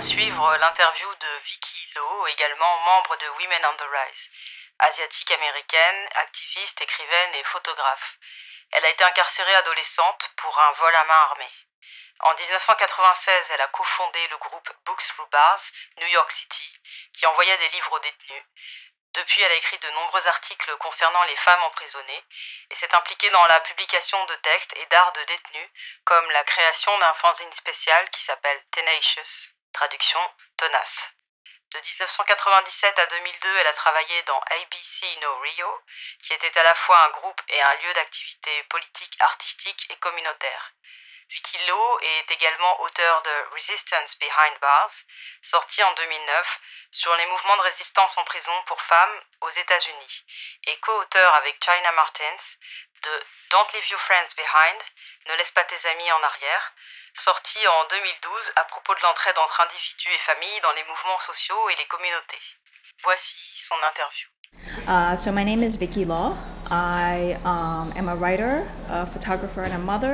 À suivre l'interview de Vicky Lowe, également membre de Women on the Rise. Asiatique américaine, activiste, écrivaine et photographe. Elle a été incarcérée adolescente pour un vol à main armée. En 1996, elle a cofondé le groupe Books Through Bars, New York City, qui envoyait des livres aux détenus. Depuis, elle a écrit de nombreux articles concernant les femmes emprisonnées et s'est impliquée dans la publication de textes et d'art de détenus, comme la création d'un fanzine spécial qui s'appelle Tenacious, traduction tenace. De 1997 à 2002, elle a travaillé dans ABC No Rio, qui était à la fois un groupe et un lieu d'activité politique, artistique et communautaire. Vicky Lowe est également auteur de Resistance Behind Bars, sorti en 2009, sur les mouvements de résistance en prison pour femmes aux États-Unis, et co-auteur avec China Martins de Don't Leave Your Friends Behind, Ne laisse pas tes amis en arrière, sorti en 2012 à propos de l'entraide entre individus et familles dans les mouvements sociaux et les communautés. Voici son interview. So my name is Vicky Law. I am a writer, a photographer, and a mother.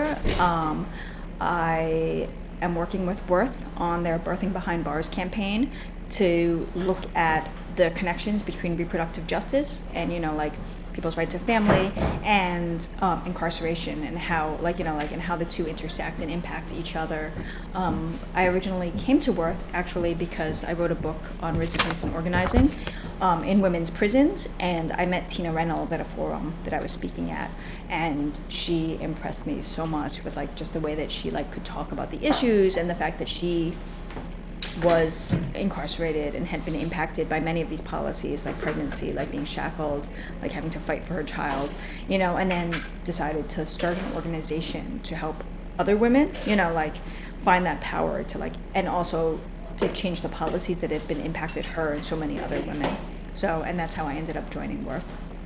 I am working with Birth on their Birthing Behind Bars campaign to look at the connections between reproductive justice and, like people's right to family and incarceration and how, and how the two intersect and impact each other. I originally came to Birth actually because I wrote a book on resistance and organizing in women's prisons, and I met Tina Reynolds at a forum that I was speaking at, and she impressed me so much with just the way that she could talk about the issues and the fact that she was incarcerated and had been impacted by many of these policies, like pregnancy, like being shackled, like having to fight for her child, and then decided to start an organization to help other women, find that power to and also to change the policies that have been impacted her and so many other women. So, and that's how I ended up joining Birth.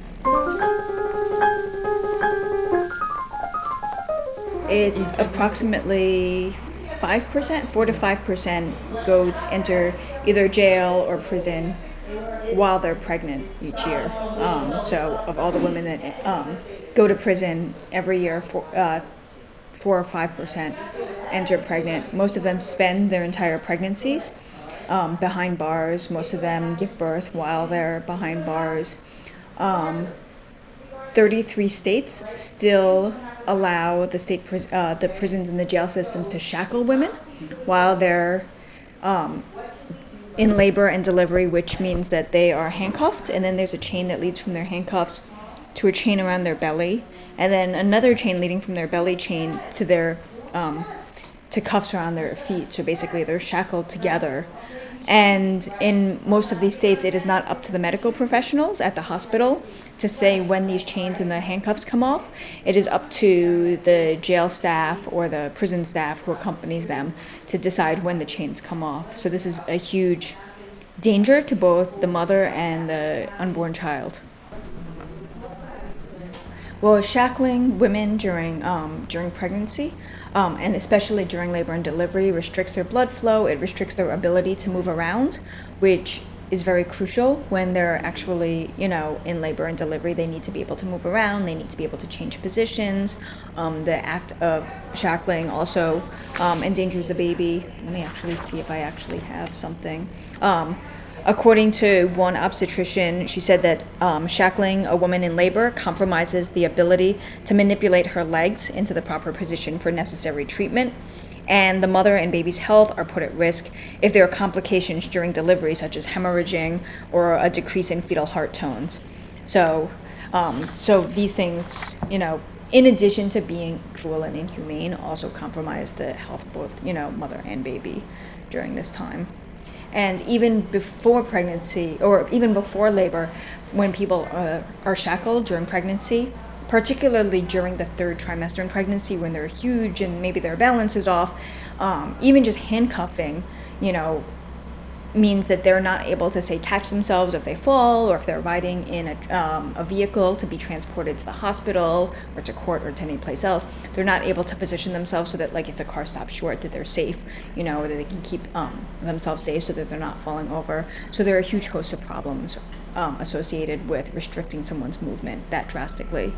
It's approximately 5%, 4 to 5% enter either jail or prison while they're pregnant each year. So of all the women that go to prison every year, 4 or 5% enter pregnant. Most of them spend their entire pregnancies behind bars. Most of them give birth while they're behind bars. 33 states still allow the prisons and the jail system to shackle women while they're in labor and delivery, which means that they are handcuffed, and then there's a chain that leads from their handcuffs to a chain around their belly, and then another chain leading from their belly chain to their to cuffs around their feet. So basically they're shackled together. And in most of these states, it is not up to the medical professionals at the hospital to say when these chains and the handcuffs come off. It is up to the jail staff or the prison staff who accompanies them to decide when the chains come off. So this is a huge danger to both the mother and the unborn child. Well, shackling women during pregnancy, and especially during labor and delivery, restricts their blood flow. It restricts their ability to move around, which is very crucial when they're actually, in labor and delivery. They need to be able to move around. They need to be able to change positions. The act of shackling also endangers the baby. Let me actually see if I actually have something. According to one obstetrician, she said that shackling a woman in labor compromises the ability to manipulate her legs into the proper position for necessary treatment, and the mother and baby's health are put at risk if there are complications during delivery, such as hemorrhaging or a decrease in fetal heart tones. So these things, in addition to being cruel and inhumane, also compromise the health of both, mother and baby during this time. And even before pregnancy, or even before labor, when people are shackled during pregnancy, particularly during the third trimester in pregnancy when they're huge and maybe their balance is off, even just handcuffing, means that they're not able to, say, catch themselves if they fall, or if they're riding in a vehicle to be transported to the hospital or to court or to any place else. They're not able to position themselves so that, if the car stops short, that they're safe, or that they can keep themselves safe so that they're not falling over. So there are a huge host of problems associated with restricting someone's movement that drastically.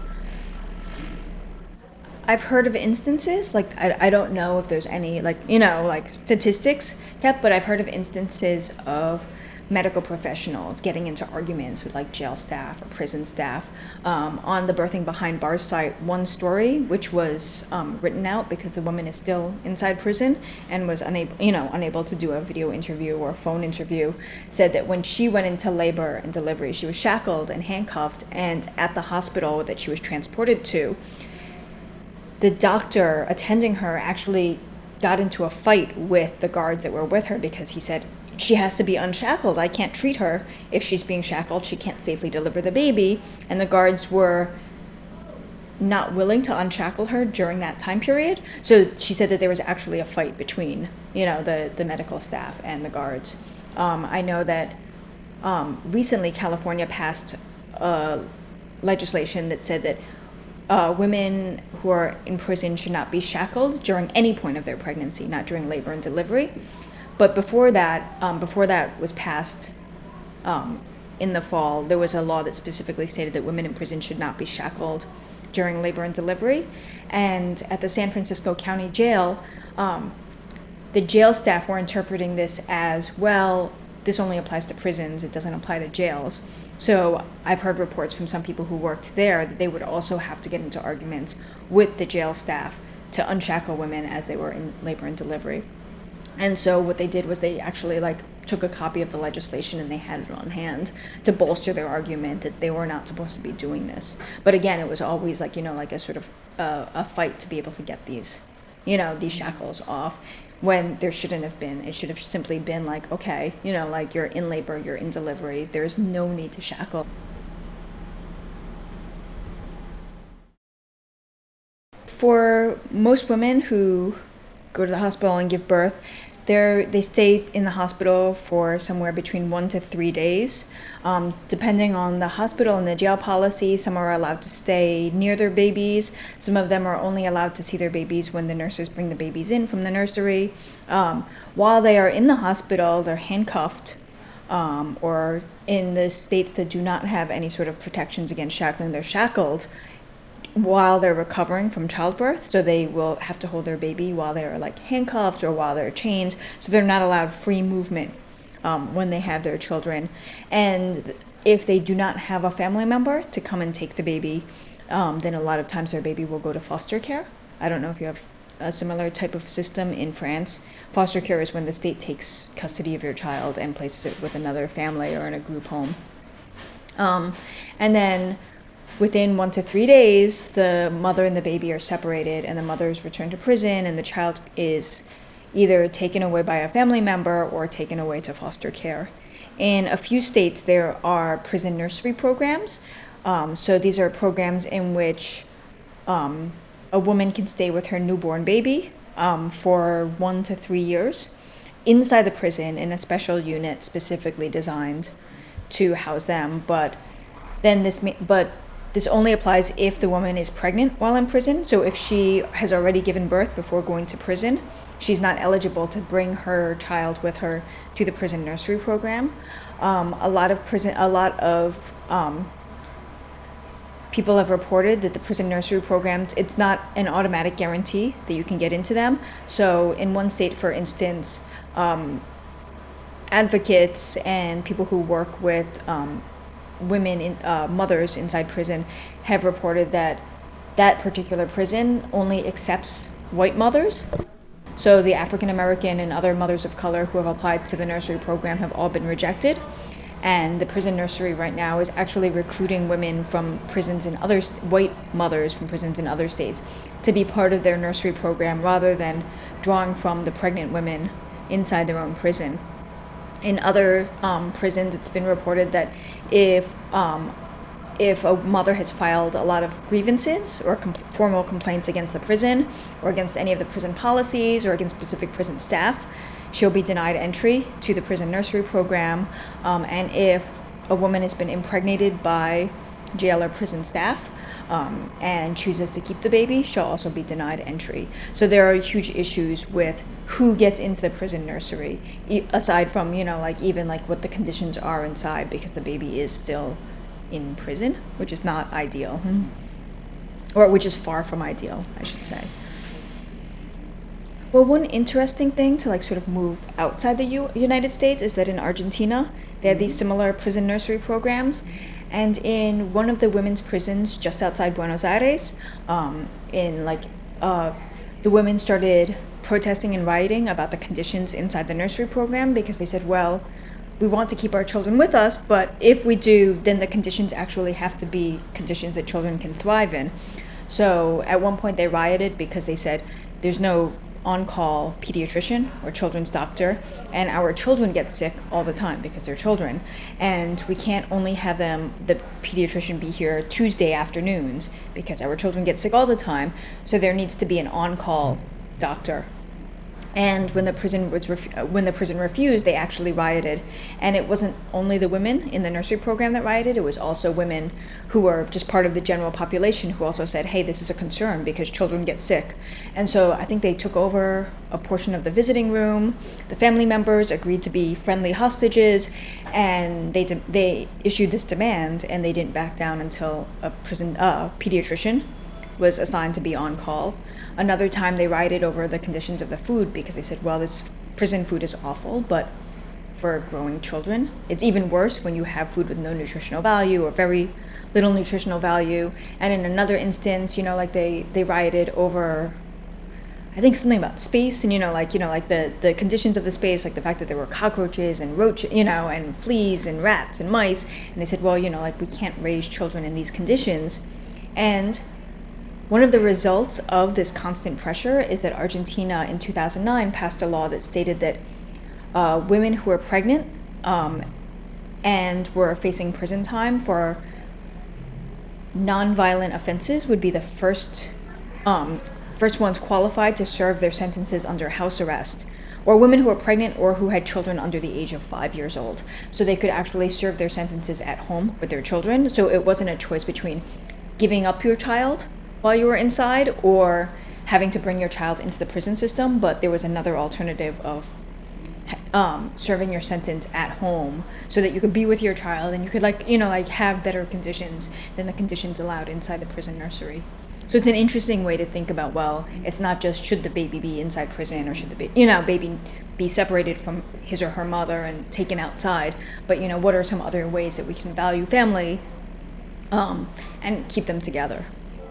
I've heard of instances, I don't know if there's any, statistics kept, but I've heard of instances of medical professionals getting into arguments with like jail staff or prison staff. On the Birthing Behind Bars site, one story which was written out because the woman is still inside prison and was unable to do a video interview or a phone interview, said that when she went into labor and delivery, she was shackled and handcuffed, and at the hospital that she was transported to, the doctor attending her actually got into a fight with the guards that were with her because he said, she has to be unshackled. I can't treat her if she's being shackled. She can't safely deliver the baby. And the guards were not willing to unshackle her during that time period. So she said that there was actually a fight between, the medical staff and the guards. I know that recently California passed legislation that said that women who are in prison should not be shackled during any point of their pregnancy, not during labor and delivery. But before that was passed in the fall, there was a law that specifically stated that women in prison should not be shackled during labor and delivery. And at the San Francisco County Jail, the jail staff were interpreting this as, well, this only applies to prisons, it doesn't apply to jails. So I've heard reports from some people who worked there that they would also have to get into arguments with the jail staff to unshackle women as they were in labor and delivery. And so what they did was they actually took a copy of the legislation and they had it on hand to bolster their argument that they were not supposed to be doing this. But again, it was always a sort of a fight to be able to get these shackles off when there shouldn't have been. It should have simply been okay, you're in labor, you're in delivery, there's no need to shackle. For most women who go to the hospital and give birth, they stay in the hospital for somewhere between 1 to 3 days. Depending on the hospital and the jail policy, some are allowed to stay near their babies. Some of them are only allowed to see their babies when the nurses bring the babies in from the nursery. While they are in the hospital, they're handcuffed, or in the states that do not have any sort of protections against shackling, they're shackled while they're recovering from childbirth. So they will have to hold their baby while they're handcuffed or while they're chained. So they're not allowed free movement when they have their children. And if they do not have a family member to come and take the baby, then a lot of times their baby will go to foster care. I don't know if you have a similar type of system in France. Foster care is when the state takes custody of your child and places it with another family or in a group home. And then within 1 to 3 days, the mother and the baby are separated, and the mother is returned to prison, and the child is either taken away by a family member or taken away to foster care. In a few states, there are prison nursery programs. So these are programs in which a woman can stay with her newborn baby for 1 to 3 years inside the prison in a special unit specifically designed to house them. But this only applies if the woman is pregnant while in prison. So if she has already given birth before going to prison, she's not eligible to bring her child with her to the prison nursery program. A lot of people have reported that the prison nursery programs, it's not an automatic guarantee that you can get into them. So in one state, for instance, advocates and people who work with women, mothers inside prison, have reported that that particular prison only accepts white mothers. So the African American and other mothers of color who have applied to the nursery program have all been rejected. And the prison nursery right now is actually recruiting women from prisons in white mothers from prisons in other states to be part of their nursery program rather than drawing from the pregnant women inside their own prison. In other prisons, it's been reported that if a mother has filed a lot of grievances or formal complaints against the prison or against any of the prison policies or against specific prison staff, she'll be denied entry to the prison nursery program. And if a woman has been impregnated by jail or prison staff and chooses to keep the baby, she'll also be denied entry. So there are huge issues with who gets into the prison nursery, aside from, even what the conditions are inside, because the baby is still in prison, which is not ideal. Or which is far from ideal, I should say. Well, one interesting thing to like sort of move outside the United States is that in Argentina, they have these similar prison nursery programs. And in one of the women's prisons just outside Buenos Aires, the women started protesting and rioting about the conditions inside the nursery program because they said, well, we want to keep our children with us, but if we do, then the conditions actually have to be conditions that children can thrive in. So at one point they rioted because they said there's no on-call pediatrician or children's doctor, and our children get sick all the time because they're children, and we can't only have the pediatrician be here Tuesday afternoons because our children get sick all the time, so there needs to be an on-call doctor. And when the prison refused, they actually rioted. And it wasn't only the women in the nursery program that rioted, it was also women who were just part of the general population who also said, hey, this is a concern because children get sick. And so I think they took over a portion of the visiting room. The family members agreed to be friendly hostages, and they issued this demand, and they didn't back down until a pediatrician was assigned to be on call. Another time they rioted over the conditions of the food because they said, well, this prison food is awful, but for growing children, it's even worse when you have food with no nutritional value or very little nutritional value. And in another instance, they rioted over, I think, something about space and, the conditions of the space, like the fact that there were cockroaches and roaches, and fleas and rats and mice. And they said, well, we can't raise children in these conditions. And one of the results of this constant pressure is that Argentina in 2009 passed a law that stated that women who were pregnant and were facing prison time for non-violent offenses would be the first ones qualified to serve their sentences under house arrest, or women who were pregnant or who had children under the age of 5 years old. So they could actually serve their sentences at home with their children. So it wasn't a choice between giving up your child while you were inside or having to bring your child into the prison system, but there was another alternative of serving your sentence at home so that you could be with your child and you could have better conditions than the conditions allowed inside the prison nursery. So it's an interesting way to think about, well, it's not just should the baby be inside prison or should the baby be separated from his or her mother and taken outside, but what are some other ways that we can value family and keep them together.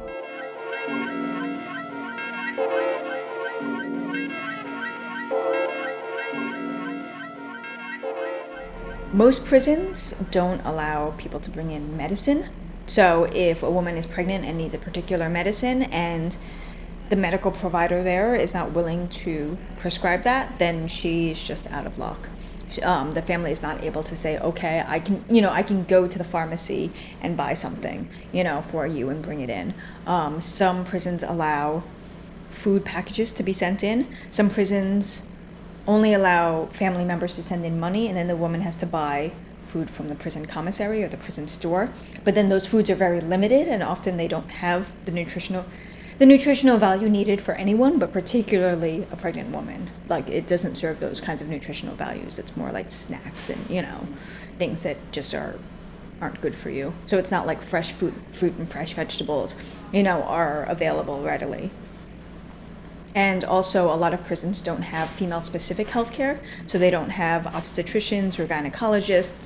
Most prisons don't allow people to bring in medicine. So if a woman is pregnant and needs a particular medicine and the medical provider there is not willing to prescribe that, then she's just out of luck. The family is not able to say, okay, I can go to the pharmacy and buy something, for you and bring it in. Some prisons allow food packages to be sent in. Some prisons only allow family members to send in money, and then the woman has to buy food from the prison commissary or the prison store. But then those foods are very limited, and often they don't have the nutritional value needed for anyone, but particularly a pregnant woman. Like, it doesn't serve those kinds of nutritional values. It's more like snacks and, things that just aren't good for you. So it's not like fresh fruit and fresh vegetables, are available readily. And also, a lot of prisons don't have female-specific healthcare, so they don't have obstetricians or gynecologists.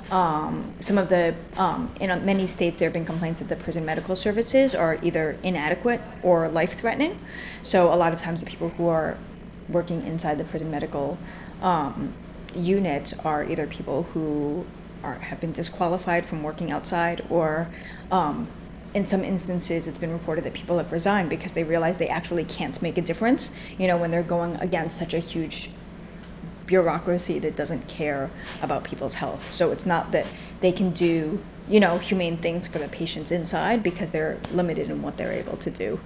In many states, there have been complaints that the prison medical services are either inadequate or life-threatening. So a lot of times, the people who are working inside the prison medical units are either people who have been disqualified from working outside, or in some instances, it's been reported that people have resigned because they realize they actually can't make a difference, when they're going against such a huge bureaucracy that doesn't care about people's health. So it's not that they can do, humane things for the patients inside because they're limited in what they're able to do.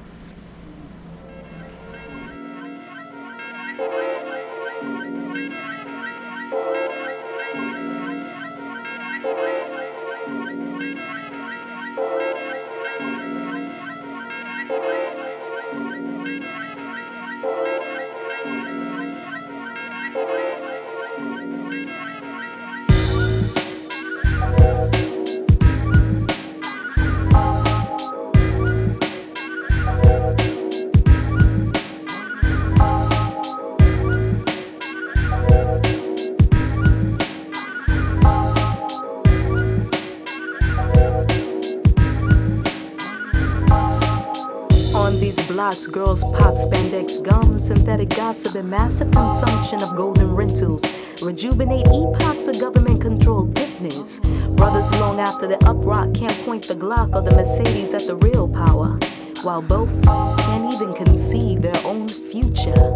blocks, girls pop spandex gums, synthetic gossip, and massive consumption of golden rentals. Rejuvenate epochs of government-controlled fitness. Brothers long after the uprock can't point the Glock or the Mercedes at the real power, while both can't even conceive their own future.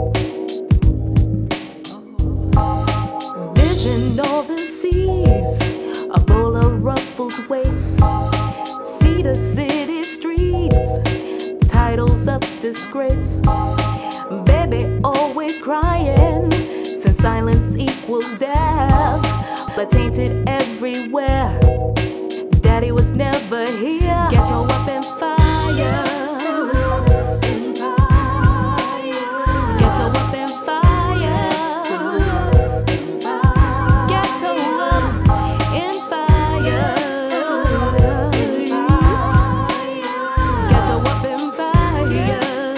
Vision all the seas, a bowl of ruffled waist. See the city streets, titles of disgrace. Baby always crying, since silence equals death. But tainted everywhere, daddy was never here. Ghetto up in fire. Ghetto up in fire. Ghetto up in fire. Ghetto up in fire.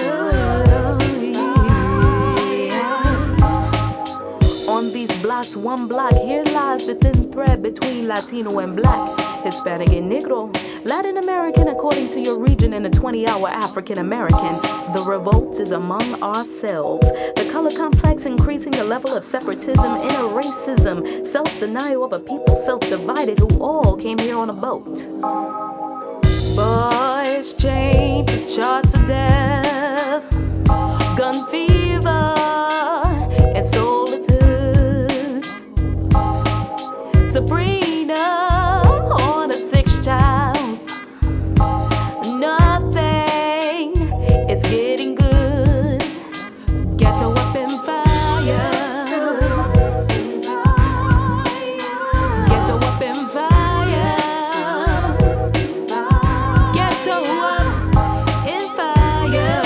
On these blocks, one block, here lies the thin thread between Latino and black, Hispanic and Negro, Latin American according to your region, and a 20-hour African American. The revolt is among ourselves. The color complex increasing the level of separatism, inner racism, self-denial of a people self-divided who all came here on a boat. Boys chained to charts of death, gun fever and solitude. Sabrina on a 6th child. Nothing is getting good. Ghetto up in fire. Ghetto up in fire. Ghetto up in fire.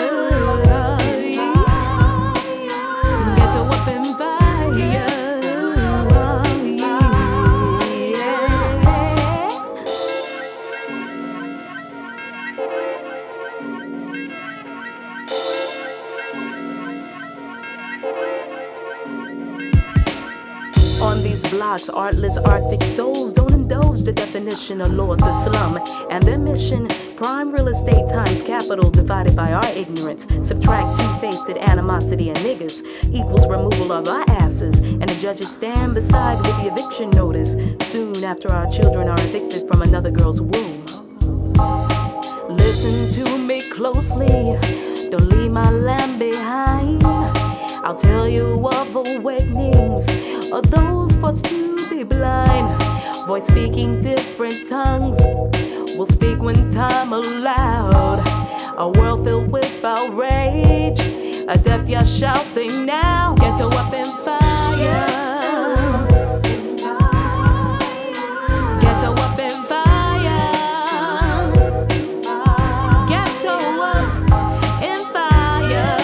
Ghetto up in fire. On these blocks, artless Arctic souls don't indulge the definition of lords of slum. And their mission, prime real estate times capital divided by our ignorance. Subtract two-faced animosity and niggas equals removal of our asses. And the judges stand beside with the eviction notice soon after our children are evicted from another girl's womb. Listen to me closely, don't leave my lamb behind. I'll tell you of awakenings of those forced to be blind. Voice speaking different tongues will speak when time allowed. A world filled with outrage, a deaf ear shall say now. Ghetto up in fire. Ghetto up in fire. Ghetto up in fire.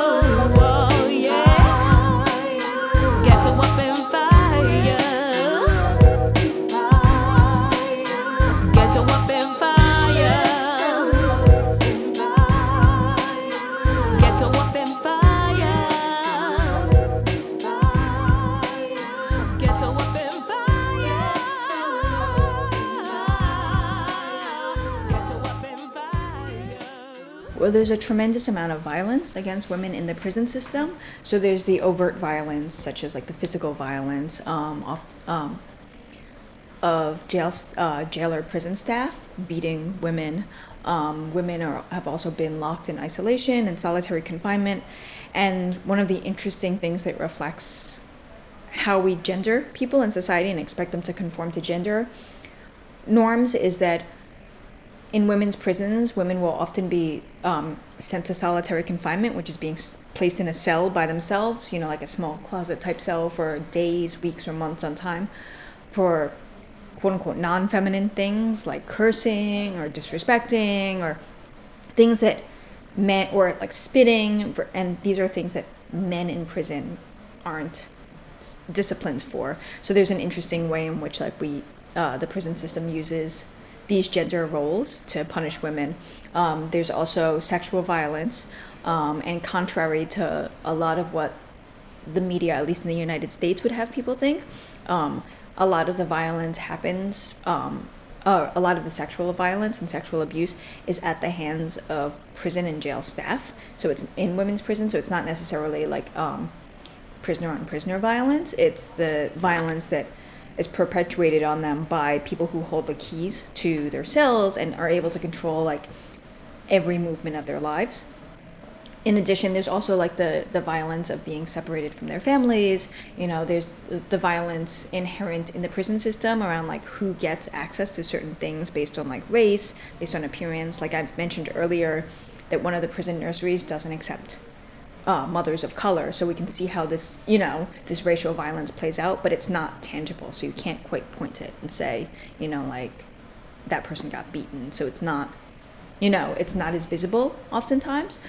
Well, there's a tremendous amount of violence against women in the prison system. So there's the overt violence, such as like the physical violence of jailer prison staff beating women. Women have also been locked in isolation and solitary confinement. And one of the interesting things that reflects how we gender people in society and expect them to conform to gender norms is that in women's prisons, women will often be sent to solitary confinement, which is being placed in a cell by themselves, like a small closet type cell for days, weeks, or months on time for quote unquote non-feminine things like cursing or disrespecting or things that men, or like spitting, and these are things that men in prison aren't disciplined for. So there's an interesting way in which the prison system uses these gender roles to punish women. There's also sexual violence, and contrary to a lot of what the media, at least in the United States, would have people think, a lot of the violence happens a lot of the sexual violence and sexual abuse is at the hands of prison and jail staff. So it's in women's prison, so it's not necessarily like prisoner on prisoner violence. It's the violence that is perpetuated on them by people who hold the keys to their cells and are able to control like every movement of their lives. In addition, there's also like the violence of being separated from their families. There's the violence inherent in the prison system around like who gets access to certain things based on like race, based on appearance. Like I mentioned earlier, that one of the prison nurseries doesn't accept mothers of color. So we can see how this, this racial violence plays out, but it's not tangible. So you can't quite point it and say, like that person got beaten. So it's not, it's not as visible oftentimes.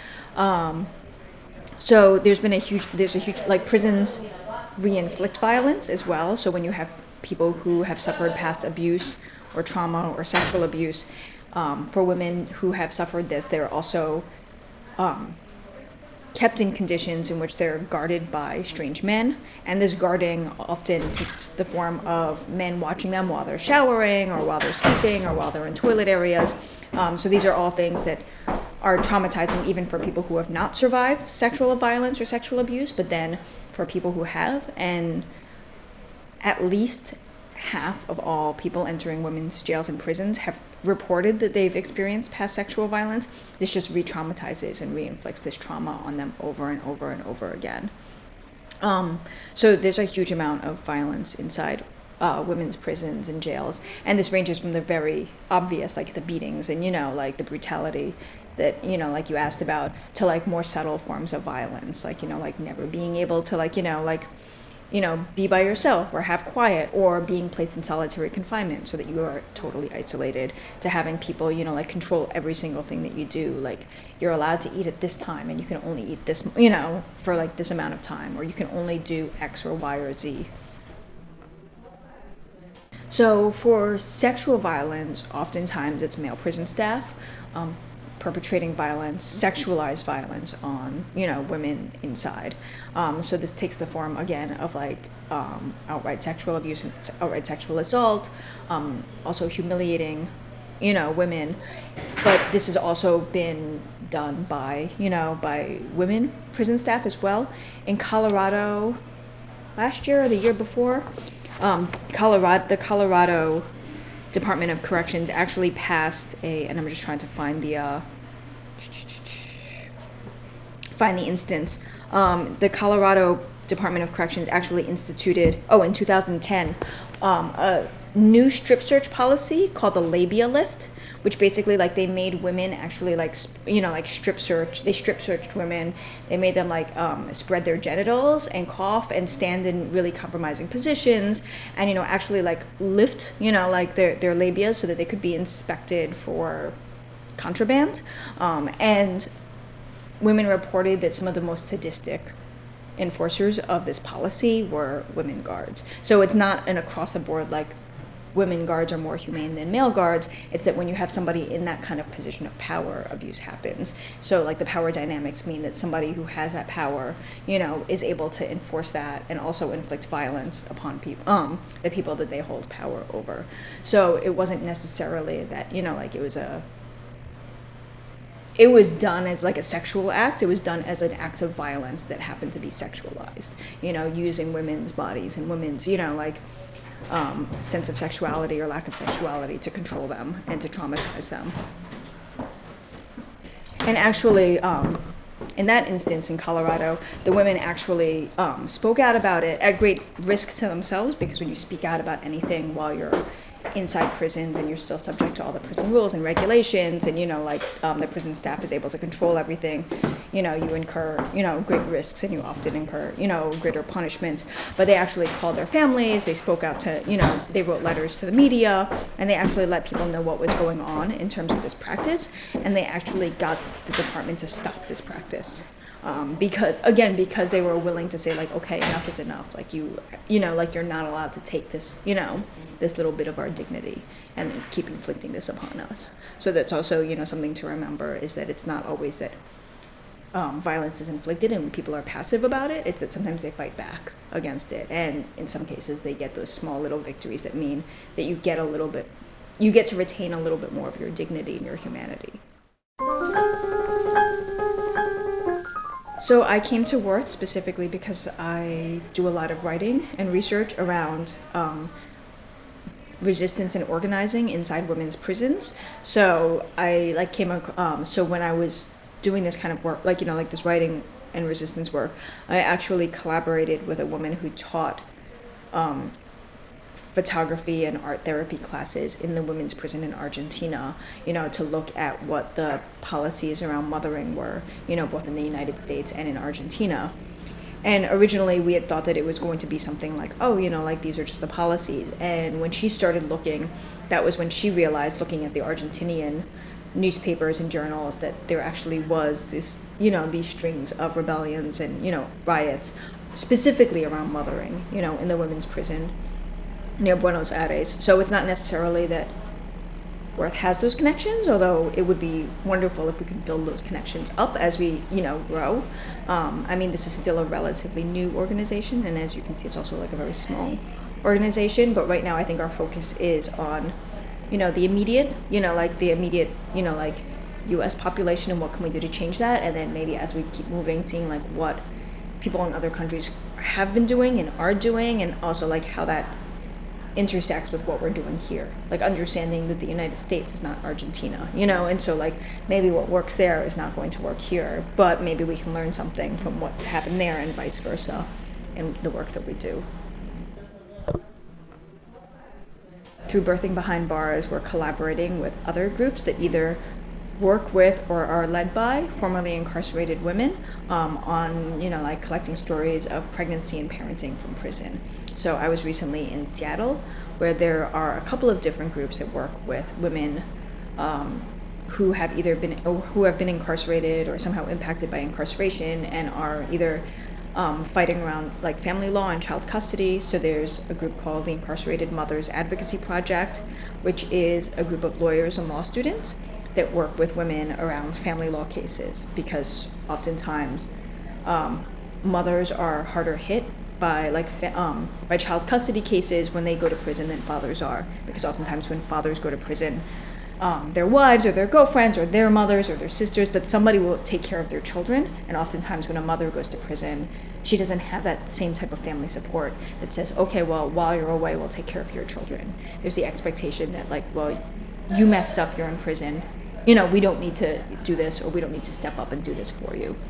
So there's a huge, like prisons re-inflict violence as well. So when you have people who have suffered past abuse or trauma or sexual abuse, for women who have suffered this, they're also kept in conditions in which they're guarded by strange men. And this guarding often takes the form of men watching them while they're showering or while they're sleeping or while they're in toilet areas. So these are all things that are traumatizing even for people who have not survived sexual violence or sexual abuse, but then for people who have, and at least half of all people entering women's jails and prisons have reported that they've experienced past sexual violence. This just re-traumatizes and re-inflicts this trauma on them over and over and over again. So there's a huge amount of violence inside women's prisons and jails, and this ranges from the very obvious, like the beatings and like the brutality that like you asked about, to like more subtle forms of violence, like like never being able to be by yourself or have quiet, or being placed in solitary confinement so that you are totally isolated, to having people like control every single thing that you do. Like you're allowed to eat at this time and you can only eat this for like this amount of time, or you can only do X or Y or Z. So for sexual violence, oftentimes it's male prison staff perpetrating violence, sexualized violence on, women inside. So this takes the form, again, of like outright sexual abuse and outright sexual assault, also humiliating, women. But this has also been done by, by women prison staff as well. In Colorado, last year or the year before, the Colorado Department of Corrections actually passed and I'm just trying to find the instance. The Colorado Department of Corrections actually instituted, in 2010, a new strip search policy called the labia lift, which basically like they made women actually like strip search. They strip searched women. They made them like spread their genitals and cough and stand in really compromising positions, and actually like lift like their labia so that they could be inspected for contraband. And women reported that some of the most sadistic enforcers of this policy were women guards. So it's not an across the board like women guards are more humane than male guards. It's that when you have somebody in that kind of position of power, abuse happens. So like the power dynamics mean that somebody who has that power, is able to enforce that and also inflict violence upon people, the people that they hold power over. So it wasn't necessarily that, like it was done as like a sexual act. It was done as an act of violence that happened to be sexualized, using women's bodies and women's, sense of sexuality or lack of sexuality to control them and to traumatize them. And actually, in that instance in Colorado, the women actually spoke out about it at great risk to themselves, because when you speak out about anything while you're inside prisons and you're still subject to all the prison rules and regulations, and the prison staff is able to control everything, you incur great risks, and you often incur greater punishments. But they actually called their families, they spoke out to they wrote letters to the media, and they actually let people know what was going on in terms of this practice, and they actually got the department to stop this practice. Because they were willing to say like, okay, enough is enough. Like you're not allowed to take this, this little bit of our dignity and keep inflicting this upon us. So that's also, something to remember, is that it's not always that violence is inflicted and people are passive about it. It's that sometimes they fight back against it. And in some cases they get those small little victories that mean that you get a little bit you get to retain a little bit more of your dignity and your humanity. So I came to Worth specifically because I do a lot of writing and research around resistance and organizing inside women's prisons. So I so when I was doing this kind of work, this writing and resistance work, I actually collaborated with a woman who taught photography and art therapy classes in the women's prison in Argentina, to look at what the policies around mothering were, both in the United States and in Argentina. And originally we had thought that it was going to be something like, these are just the policies. And when she started looking, that was when she realized, looking at the Argentinian newspapers and journals, that there actually was this, these strings of rebellions and, riots, specifically around mothering, in the women's prison near Buenos Aires. So it's not necessarily that Worth has those connections, although it would be wonderful if we could build those connections up as we, grow. This is still a relatively new organization, and as you can see, it's also like a very small organization. But right now, I think our focus is on, the immediate, U.S. population and what can we do to change that, and then maybe as we keep moving, seeing like what people in other countries have been doing and are doing, and also like how that intersects with what we're doing here, like understanding that the United States is not Argentina, and so like maybe what works there is not going to work here, but maybe we can learn something from what's happened there and vice versa in the work that we do. Through Birthing Behind Bars, we're collaborating with other groups that either work with or are led by formerly incarcerated women on, collecting stories of pregnancy and parenting from prison. So I was recently in Seattle, where there are a couple of different groups that work with women who have been incarcerated or somehow impacted by incarceration and are either fighting around like family law and child custody. So there's a group called the Incarcerated Mothers Advocacy Project, which is a group of lawyers and law students that work with women around family law cases, because oftentimes mothers are harder hit by by child custody cases when they go to prison than fathers are, because oftentimes when fathers go to prison, their wives or their girlfriends or their mothers or their sisters, but somebody will take care of their children. And oftentimes when a mother goes to prison, she doesn't have that same type of family support that says, okay, well, while you're away, we'll take care of your children. There's the expectation that you messed up, you're in prison, we don't need to do this, or we don't need to step up and do this for you.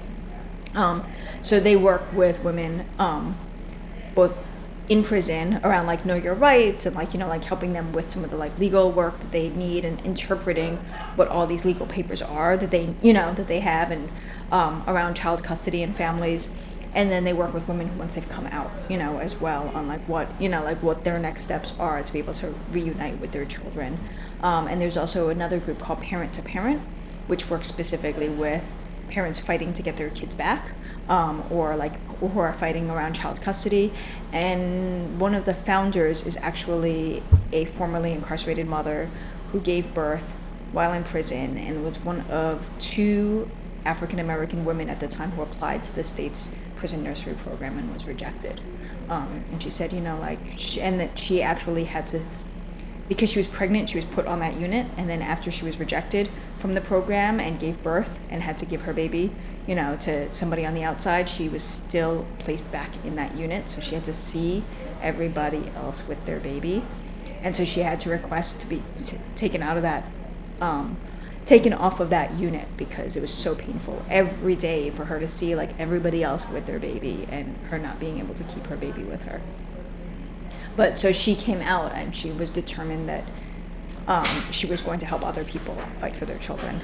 So they work with women both in prison around know your rights and helping them with some of the legal work that they need and interpreting what all these legal papers are that they have, and around child custody and families. And then they work with women once they've come out, as well on what their next steps are to be able to reunite with their children. And there's also another group called Parent to Parent, which works specifically with parents fighting to get their kids back, or who are fighting around child custody. And one of the founders is actually a formerly incarcerated mother who gave birth while in prison and was one of 2 African American women at the time who applied to the state's prison nursery program and was rejected. And she said, and that she actually had to, because she was pregnant, she was put on that unit, and then after she was rejected from the program and gave birth and had to give her baby, to somebody on the outside, she was still placed back in that unit, so she had to see everybody else with their baby. And so she had to request to be taken out of that, taken off of that unit, because it was so painful every day for her to see everybody else with their baby and her not being able to keep her baby with her. But so she came out and she was determined that she was going to help other people fight for their children.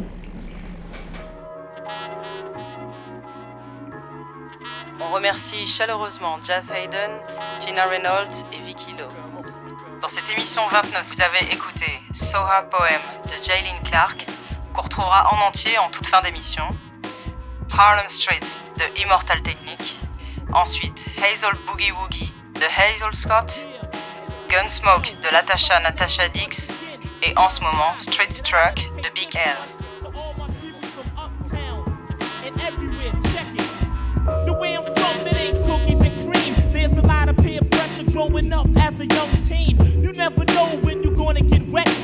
On remercie chaleureusement Jazz Hayden, Tina Reynolds et Vicky Lowe. Dans cette émission 29, vous avez écouté Soha Poem de Jaylin Clark, qu'on retrouvera en entier en toute fin d'émission. Harlem Street de Immortal Technique. Ensuite, Hazel Boogie Woogie de Hazel Scott. Gunsmoke de Natasha Dix. Et en ce moment, Street Truck de Big L. The way I'm from, it ain't cookies and cream. There's a lot of peer pressure growing up as a young teen. You never know when you're gonna get wet.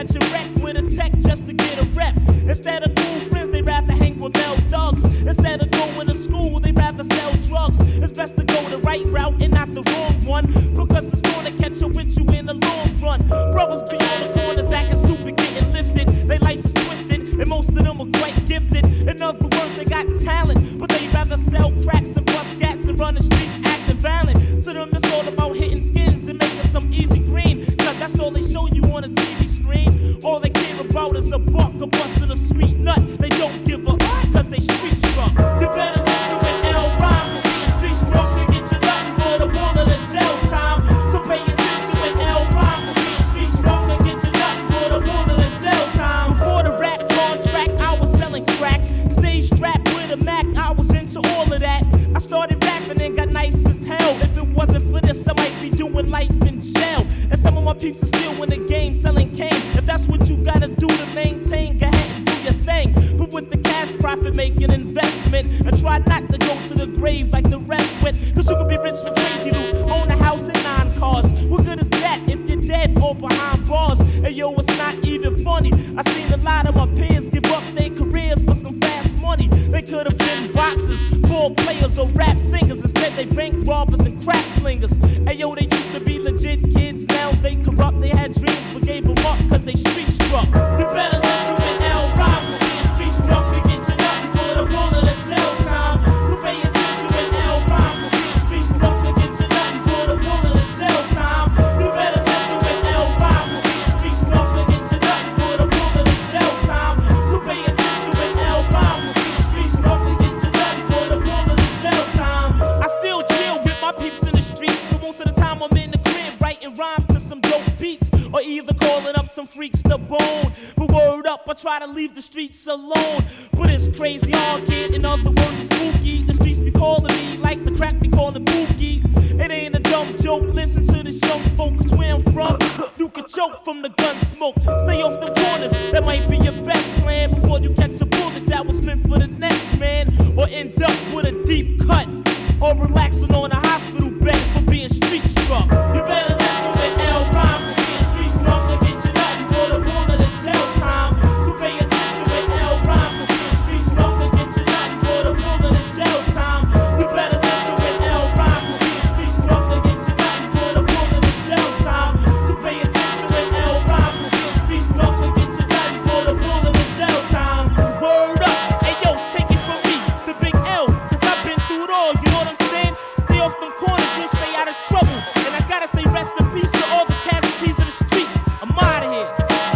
catch a wreck with a tech just to get a rep. Instead of cool friends, they rather hang with male thugs. Instead of going to school, they rather sell drugs. It's best to go the right route and not the wrong one, because it's gonna catch up with you in the long run. Brothers be on the corners acting stupid, getting lifted. Their life is twisted, and most of them are quite gifted. In other words, they got talent, but they rather sell cracks and bust cats and run the streets acting violent. To them, it's all about hitting skins and making some easy green, cause that's all they show you on a TV screen. All they care about is a buck, a bust, and a sweet nut. They don't give a cause they street struck. You better listen with L rhyme, cause being street struck to get you nothing for the wall of the jail time. So pay attention with L rhyme, cause being street struck to get you nothing for the wall of the jail time. Before the rap contract, I was selling crack. Stage strapped with a Mac, I was into all of that. I started rapping and got nice as hell. If it wasn't for this, I might be doing life in jail. And some of my peeps are still in the game selling cane. If that's what you gotta do to maintain, go ahead and do your thing. But with the cash profit, make an investment and try not to go to the grave like the rest went. Cause you can be rich with crazy loot, own a house and 9 cars. What good is that if you're dead or behind bars? And yo, it's not even funny. I seen a lot of my peers give up their careers for some fast money. They could have been boxers, ball players, or rap singers. Instead, they bank robbers and crack slingers. And yo, they used to be legit kids, now they corrupt. They had dreams but gave them up cause they street struck. You better listen with L rhyme, cause being street struck to get you nothing for the wall of the jail time. So pay attention with L rhyme, cause being street struck to get you nothing for the wall of the jail time. You better listen with L rhyme, cause being street struck to get you nothing for the wall of the jail time. So pay attention with L rhyme, cause being street struck to get you nothing for the wall of the jail time. I still chill with my peeps in the streets, but most of the time I'm in the crib writing rhymes to some dope beats, or either calling up some freaks to bone. But word up, I try to leave the streets alone. But it's crazy hard, kid, in other words, it's spooky. The streets be calling me like the crack be calling Bookie. It ain't a dumb joke, listen to this young folk, cause where I'm from, you can choke from the gun smoke. Stay off the corners, that might be your best plan before you catch a bullet that was meant for the next man. Or end up with a deep cut, or relaxing on a hospital bed for being street struck. You better listen with L rhyme, cause being street struck to get you nothing for the wall of the jail time. So pay attention with L rhyme, cause being street struck to get you nothing for the wall of the jail time. You better listen with L rhyme, cause being street struck to get you nothing for the wall of the jail time. So pay attention with L rhyme, cause being street struck to get you nothing for the wall of the jail time. Word up, hey yo, take it from me, the big L, cause I've been through it all, you know what I'm saying? Stay off them corners, you'll stay out of trouble. And I gotta say rest in peace to all the casualties in the streets. I'm out of here.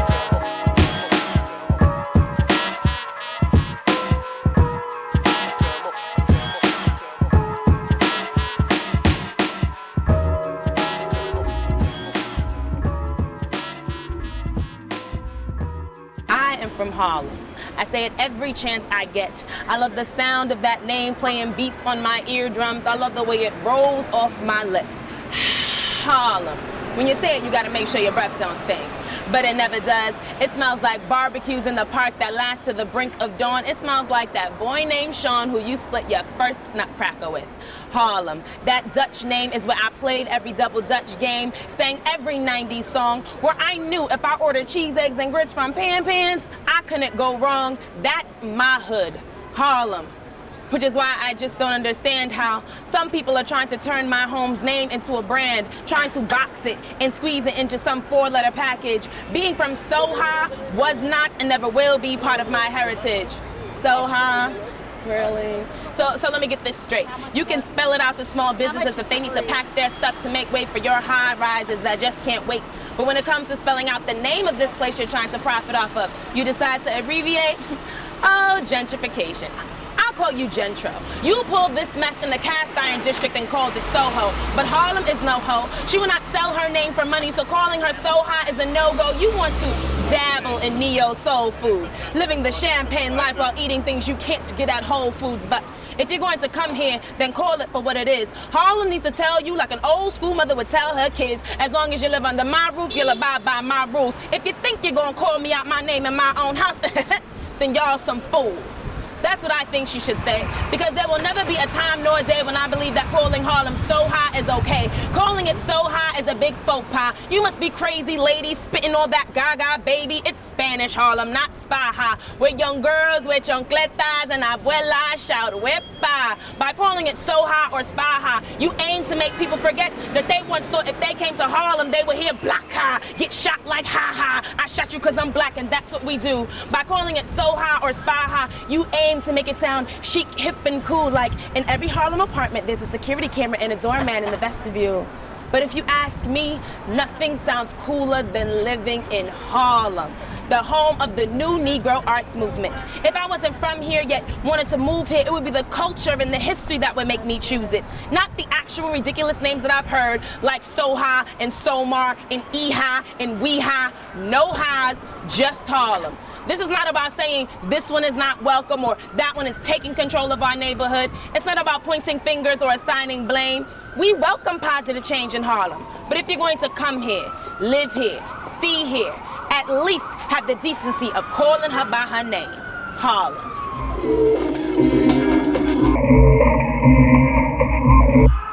I am from Harlem. I say it every chance I get. I love the sound of that name playing beats on my eardrums. I love the way it rolls off my lips. Harlem. When you say it, you gotta make sure your breath don't stink. But it never does. It smells like barbecues in the park that last to the brink of dawn. It smells like that boy named Sean who you split your first nutcracker with. Harlem. That Dutch name is where I played every double Dutch game, sang every 90s song, where I knew if I ordered cheese, eggs, and grits from Pan Pans, I couldn't go wrong. That's my hood. Harlem. Which is why I just don't understand how some people are trying to turn my home's name into a brand, trying to box it and squeeze it into some 4-letter package. Being from Soha was not and never will be part of my heritage. Soha? Really? So let me get this straight. You can spell it out to small businesses that they need to pack their stuff to make way for your high rises that just can't wait. But when it comes to spelling out the name of this place you're trying to profit off of, you decide to abbreviate? Oh, gentrification. I'll call you Gentro. You pulled this mess in the cast iron district and called it Soho. But Harlem is no ho. She will not sell her name for money, so calling her Soha is a no-go. You want to dabble in neo-soul food, living the champagne life while eating things you can't get at Whole Foods. But if you're going to come here, then call it for what it is. Harlem needs to tell you like an old school mother would tell her kids, as long as you live under my roof, you'll abide by my rules. If you think you're gonna call me out my name in my own house, then y'all some fools. That's what I think she should say. Because there will never be a time nor a day when I believe that calling Harlem so high is okay. Calling it so high is a big faux pas. You must be crazy, lady, spitting all that gaga, baby. It's Spanish Harlem, not Spaha, where young girls with chancletas and abuelas shout wepa. By calling it so high or Spaha, you aim to make people forget that they once thought if they came to Harlem, they would hear black ha, get shot like ha ha. I shot you cause I'm black, and that's what we do. By calling it so high or Spaha, you aim to make it sound chic, hip, and cool, like in every Harlem apartment, there's a security camera and a doorman in the vestibule. But if you ask me, nothing sounds cooler than living in Harlem, the home of the new Negro arts movement. If I wasn't from here yet wanted to move here, it would be the culture and the history that would make me choose it. Not the actual ridiculous names that I've heard, like Soha and Somar and Eha and Weha. No highs, just Harlem. This is not about saying this one is not welcome or that one is taking control of our neighborhood. It's not about pointing fingers or assigning blame. We welcome positive change in Harlem. But if you're going to come here, live here, see here, at least have the decency of calling her by her name, Harlem.